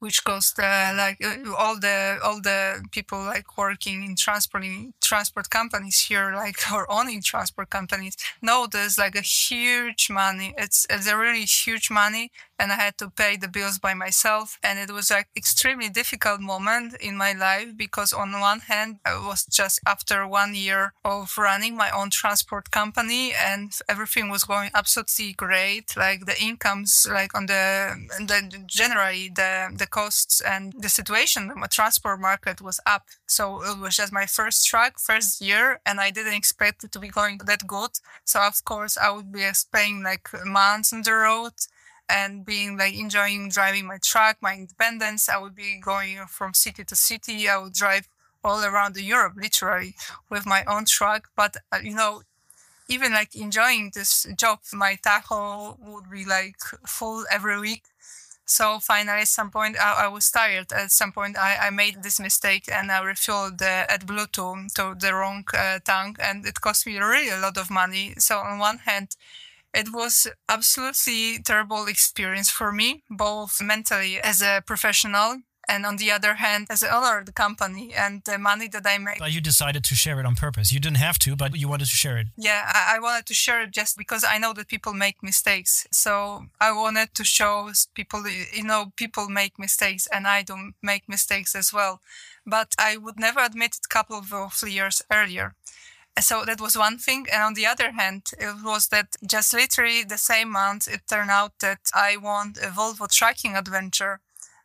which cost uh, like uh, all the all the people like working in transport in transport companies here, like or owning transport companies, know there's like a huge money. It's it's a really huge money, and I had to pay the bills by myself, and it was like extremely difficult moment in my life because on one hand I was just after one year of running my own transport company, and everything was going absolutely great. Like the incomes, like on the the generally the the costs and the situation in the transport market was up. So it was just my first truck, first year, and I didn't expect it to be going that good. So of course I would be spending like months on the road and being like enjoying driving my truck, my independence. I would be going from city to city. I would drive all around Europe, literally, with my own truck. But, uh, you know, even like enjoying this job, my tacho would be like full every week. So finally, at some point, I, I was tired. At some point, I, I made this mistake and I refilled the AdBlue to, to the wrong uh, tank, and it cost me really a lot of money. So on one hand, it was absolutely terrible experience for me, both mentally as a professional and on the other hand, as an owner of the company and the money that I made. But you decided to share it on purpose. You didn't have to, but you wanted to share it. Yeah, I, I wanted to share it just because I know that people make mistakes. So I wanted to show people, you know, people make mistakes and I do make mistakes as well. But I would never admit it a couple of years earlier. So that was one thing. And on the other hand, it was that just literally the same month, it turned out that I won a Volvo trucking adventure.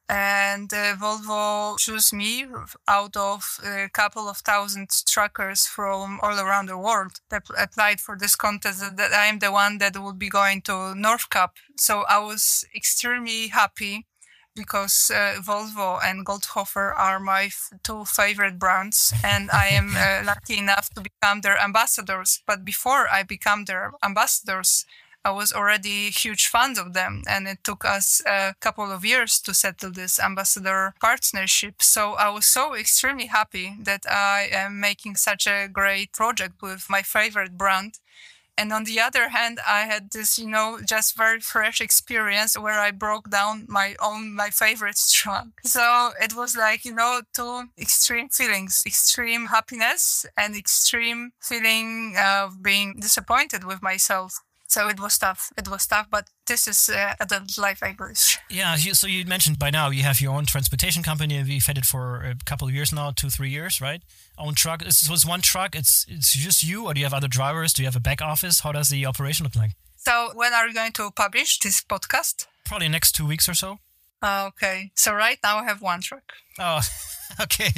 And uh, Volvo chose me out of a couple of thousand truckers from all around the world that applied for this contest, that I am the one that would be going to North Cup. So I was extremely happy because uh, Volvo and Goldhofer are my f- two favorite brands, and I am uh, lucky enough to become their ambassadors. But before I become their ambassadors, I was already huge fans of them, and it took us a couple of years to settle this ambassador partnership. So I was so extremely happy that I am making such a great project with my favorite brand. And on the other hand, I had this, you know, just very fresh experience where I broke down my own, my favorite truck. So it was like, you know, two extreme feelings, extreme happiness and extreme feeling of being disappointed with myself. So it was tough. It was tough, but this is uh, adult life, I guess. Yeah, you, so you mentioned by now you have your own transportation company, and you've had it for a couple of years now, two, three years, right? Own truck. So it's one truck. It's it's just you, or do you have other drivers? Do you have a back office? How does the operation look like? So when are you going to publish this podcast? Probably next two weeks or so. Uh, okay. So right now I have one truck. Oh, okay.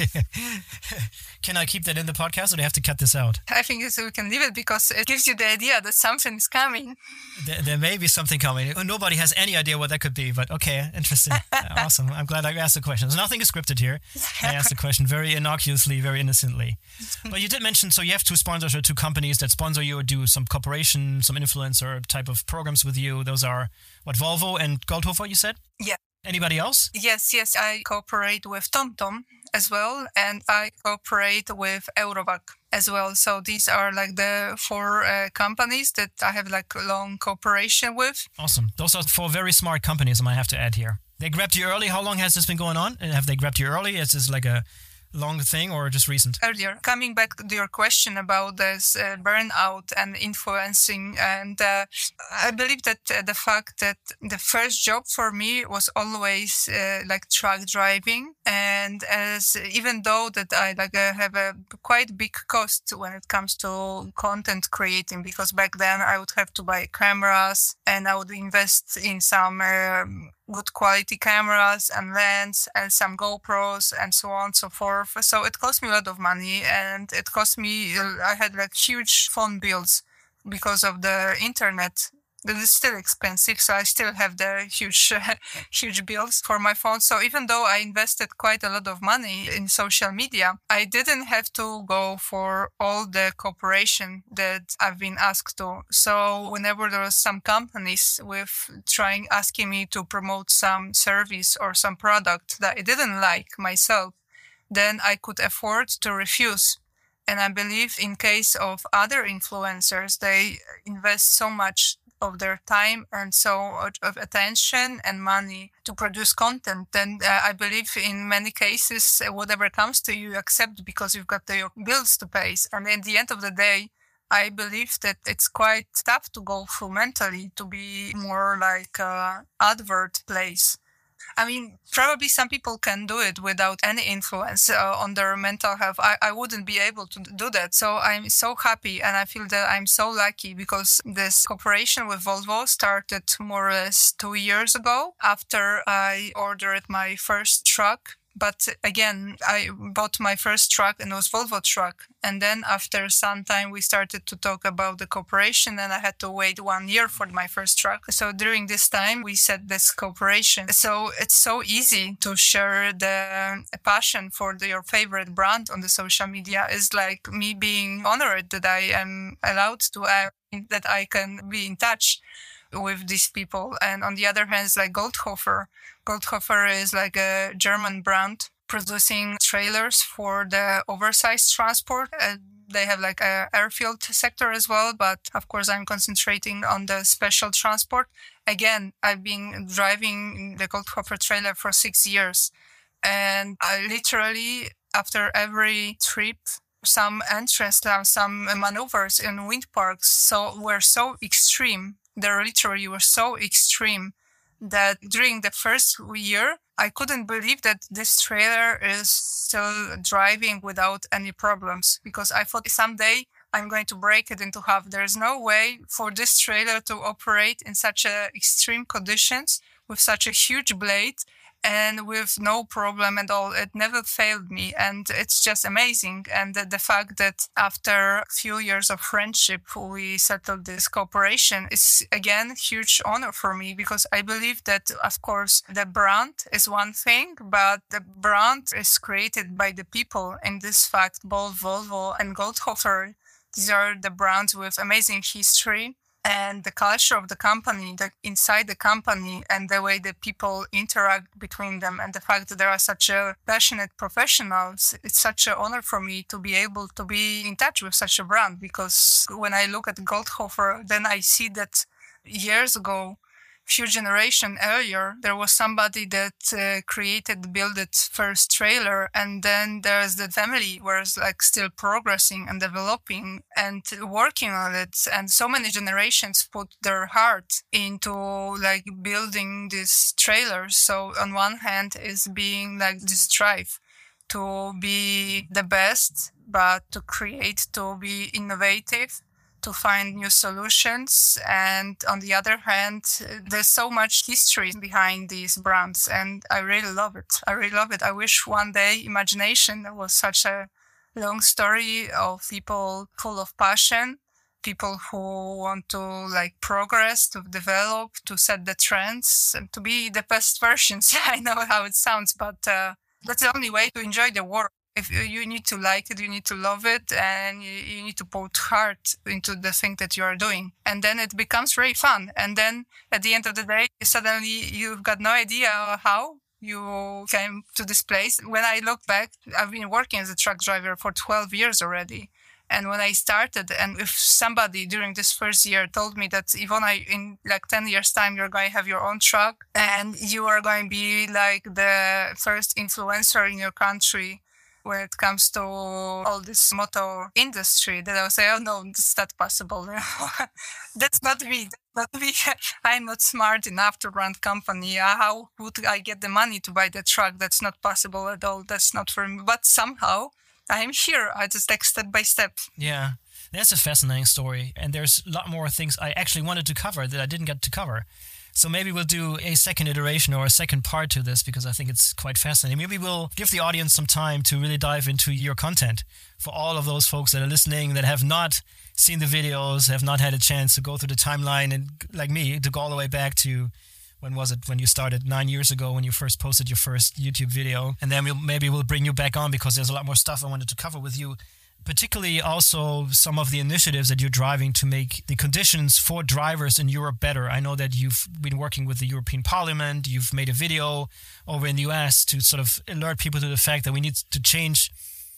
Can I keep that in the podcast, or do I have to cut this out? I think we can leave it because it gives you the idea that something is coming. There, there may be something coming. Nobody has any idea what that could be, but okay, interesting. Awesome. I'm glad I asked the question. So nothing is scripted here. I asked the question very innocuously, very innocently. But you did mention, so you have two sponsors or two companies that sponsor you or do some cooperation, some influencer type of programs with you. Those are, what, Volvo and Goldhofer, you said? Yeah. Anybody else? Yes, yes. I cooperate with TomTom as well, and I cooperate with Eurovac as well. So these are like the four uh, companies that I have like long cooperation with. Awesome. Those are four very smart companies, I might have to add here. They grabbed you early. How long has this been going on? And have they grabbed you early? Is this like a long thing or just recent? Earlier. Coming back to your question about this uh, burnout and influencing, and uh, I believe that uh, the fact that the first job for me was always uh, like truck driving, and as even though that I like uh, have a quite big cost when it comes to content creating, because back then I would have to buy cameras and I would invest in some um, good quality cameras and lens and some GoPros and so on and so forth. So it cost me a lot of money, and it cost me, I had like huge phone bills because of the internet. That is still expensive, so I still have the huge, uh, huge bills for my phone. So even though I invested quite a lot of money in social media, I didn't have to go for all the cooperation that I've been asked to. So whenever there was some companies with trying, asking me to promote some service or some product that I didn't like myself, then I could afford to refuse. And I believe in case of other influencers, they invest so much of their time and so much of attention and money to produce content. And uh, I believe in many cases, uh, whatever comes to you, you accept because you've got the, your bills to pay. And at the end of the day, I believe that it's quite tough to go through mentally to be more like a advert place. I mean, probably some people can do it without any influence uh, on their mental health. I, I wouldn't be able to do that. So I'm so happy and I feel that I'm so lucky because this cooperation with Volvo started more or less two years ago after I ordered my first truck. But again, I bought my first truck and it was Volvo truck. And then after some time, we started to talk about the cooperation and I had to wait one year for my first truck. So during this time, we set this cooperation. So it's so easy to share the passion for the, your favorite brand on the social media. It's like me being honored that I am allowed to, uh, that I can be in touch with these people. And on the other hand, it's like Goldhofer. Goldhofer is like a German brand producing trailers for the oversized transport. Uh, they have like a airfield sector as well, but of course I'm concentrating on the special transport. Again, I've been driving the Goldhofer trailer for six years. And I literally, after every trip, some entrance, some maneuvers in wind parks so were so extreme. They literally were so extreme that during the first year, I couldn't believe that this trailer is still driving without any problems because I thought someday I'm going to break it into half. There's no way for this trailer to operate in such a extreme conditions with such a huge blade and with no problem at all. It never failed me. And it's just amazing. And the, the fact that after a few years of friendship, we settled this cooperation is, again, huge honor for me because I believe that, of course, the brand is one thing, but the brand is created by the people. In this fact, both Volvo and Goldhofer, these are the brands with amazing history. And the culture of the company, the inside the company, and the way that people interact between them, and the fact that there are such a passionate professionals, it's such an honor for me to be able to be in touch with such a brand. Because when I look at Goldhofer, then I see that years ago, few generation earlier, there was somebody that uh, created, built it first trailer, and then there's the family where it's like still progressing and developing and working on it. And so many generations put their heart into like building these trailers. So on one hand is being like this drive to be the best, but to create, to be innovative, to find new solutions. And on the other hand, there's so much history behind these brands and I really love it. I really love it. I wish one day Imagination was such a long story of people full of passion, people who want to like progress, to develop, to set the trends and to be the best versions. I know how it sounds, but uh, that's the only way to enjoy the work. If you need to like it, you need to love it, and you, you need to put heart into the thing that you are doing. And then it becomes very fun. And then at the end of the day, suddenly you've got no idea how you came to this place. When I look back, I've been working as a truck driver for twelve years already. And when I started, and if somebody during this first year told me that, Ivona, in like ten years time, you're going to have your own truck and you are going to be like the first influencer in your country when it comes to all this motor industry, that I would say, oh no, it's not possible. That's not me. That's not me. I'm not smart enough to run company. How would I get the money to buy the truck? That's not possible at all. That's not for me. But somehow I'm here. I just like step by step. Yeah, that's a fascinating story. And there's a lot more things I actually wanted to cover that I didn't get to cover. So maybe we'll do a second iteration or a second part to this because I think it's quite fascinating. Maybe we'll give the audience some time to really dive into your content for all of those folks that are listening that have not seen the videos, have not had a chance to go through the timeline and like me, to go all the way back to, when was it, when you started nine years ago when you first posted your first YouTube video. And then we'll, maybe we'll bring you back on because there's a lot more stuff I wanted to cover with you. Particularly also some of the initiatives that you're driving to make the conditions for drivers in Europe better. I know that you've been working with the European Parliament. You've made a video over in the U S to sort of alert people to the fact that we need to change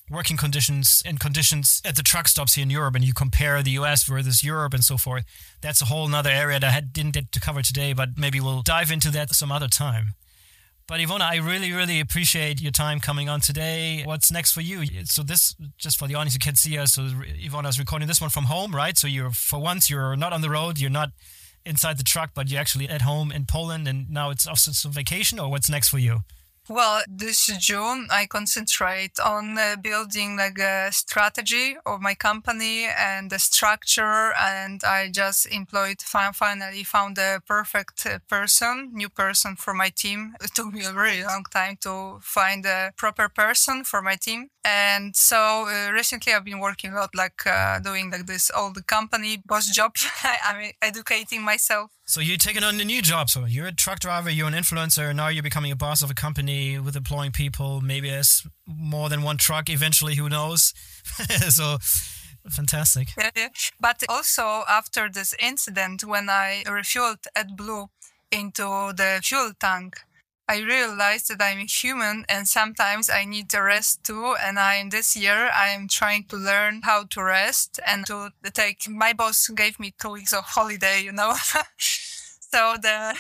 working conditions and conditions at the truck stops here in Europe, and you compare the U S versus Europe and so forth. That's a whole nother area that I had, didn't get to cover today, but maybe we'll dive into that some other time. But Ivona, I really, really appreciate your time coming on today. What's next for you? So this, just for the audience, you can't see us. So Ivona is recording this one from home, right? So you're, for once, you're not on the road. You're not inside the truck, but you're actually at home in Poland. And now it's also some vacation, or what's next for you? Well, this June, I concentrate on uh, building like a strategy of my company and the structure. And I just employed, finally found a perfect person, new person for my team. It took me a really long time to find a proper person for my team. And so uh, recently I've been working a lot, like uh, doing like this old company boss job. I mean, educating myself. So you're taking on a new job. So you're a truck driver, you're an influencer, now you're becoming a boss of a company with employing people, maybe as more than one truck eventually, who knows? So fantastic. Yeah, yeah. But also after this incident, when I refueled AdBlue into the fuel tank, I realized that I'm human and sometimes I need a rest too. And I, this year, I'm trying to learn how to rest and to take, my boss gave me two weeks of holiday, you know. so the,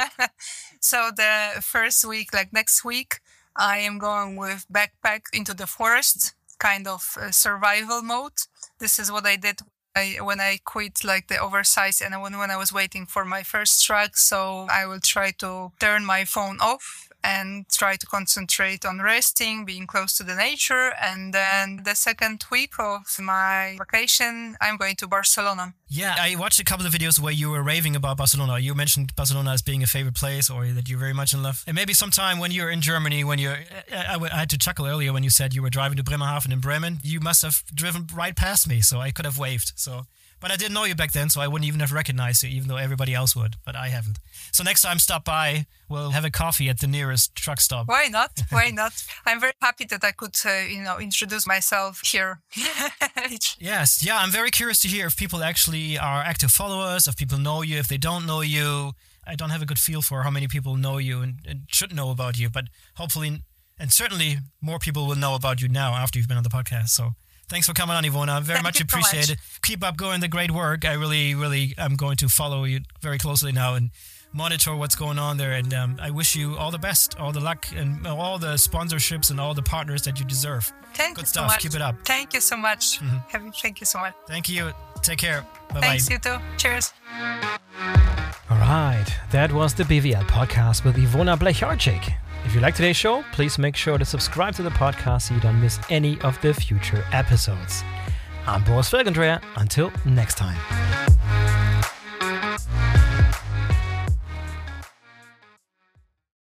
so the first week, like next week, I am going with backpack into the forest, kind of uh, survival mode. This is what I did I, when I quit like the oversize and when, when I was waiting for my first truck. So I will try to turn my phone off and try to concentrate on resting, being close to the nature. And then the second week of my vacation, I'm going to Barcelona. Yeah, I watched a couple of videos where you were raving about Barcelona. You mentioned Barcelona as being a favorite place, or that you're very much in love. And maybe sometime when you're in Germany, when you're, I, I had to chuckle earlier when you said you were driving to Bremerhaven in Bremen. You must have driven right past me, so I could have waved. So, but I didn't know you back then, so I wouldn't even have recognized you, even though everybody else would. But I haven't. So next time, stop by. We'll have a coffee at the nearest truck stop. Why not? Why not? I'm very happy that I could, uh, you know, introduce myself here. Yes. Yeah, I'm very curious to hear if people actually are active followers, if people know you, if they don't know you. I don't have a good feel for how many people know you and, and should know about you, but hopefully, and certainly more people will know about you now after you've been on the podcast. So thanks for coming on, Ivona. Very Thank much you so appreciate much. it. Keep up going the great work. I really, really am going to follow you very closely now and monitor what's going on there. And um, I wish you all the best, all the luck, and all the sponsorships and all the partners that you deserve. Thank Good you stuff. so much. Keep it up. Thank you so much. Mm-hmm. Have, thank you so much. Thank you. Take care. Bye-bye. Thanks, you too. Cheers. All right. That was the B V L podcast with Ivona Blecharczyk. If you like today's show, please make sure to subscribe to the podcast so you don't miss any of the future episodes. I'm Boris Felgendreher. Until next time.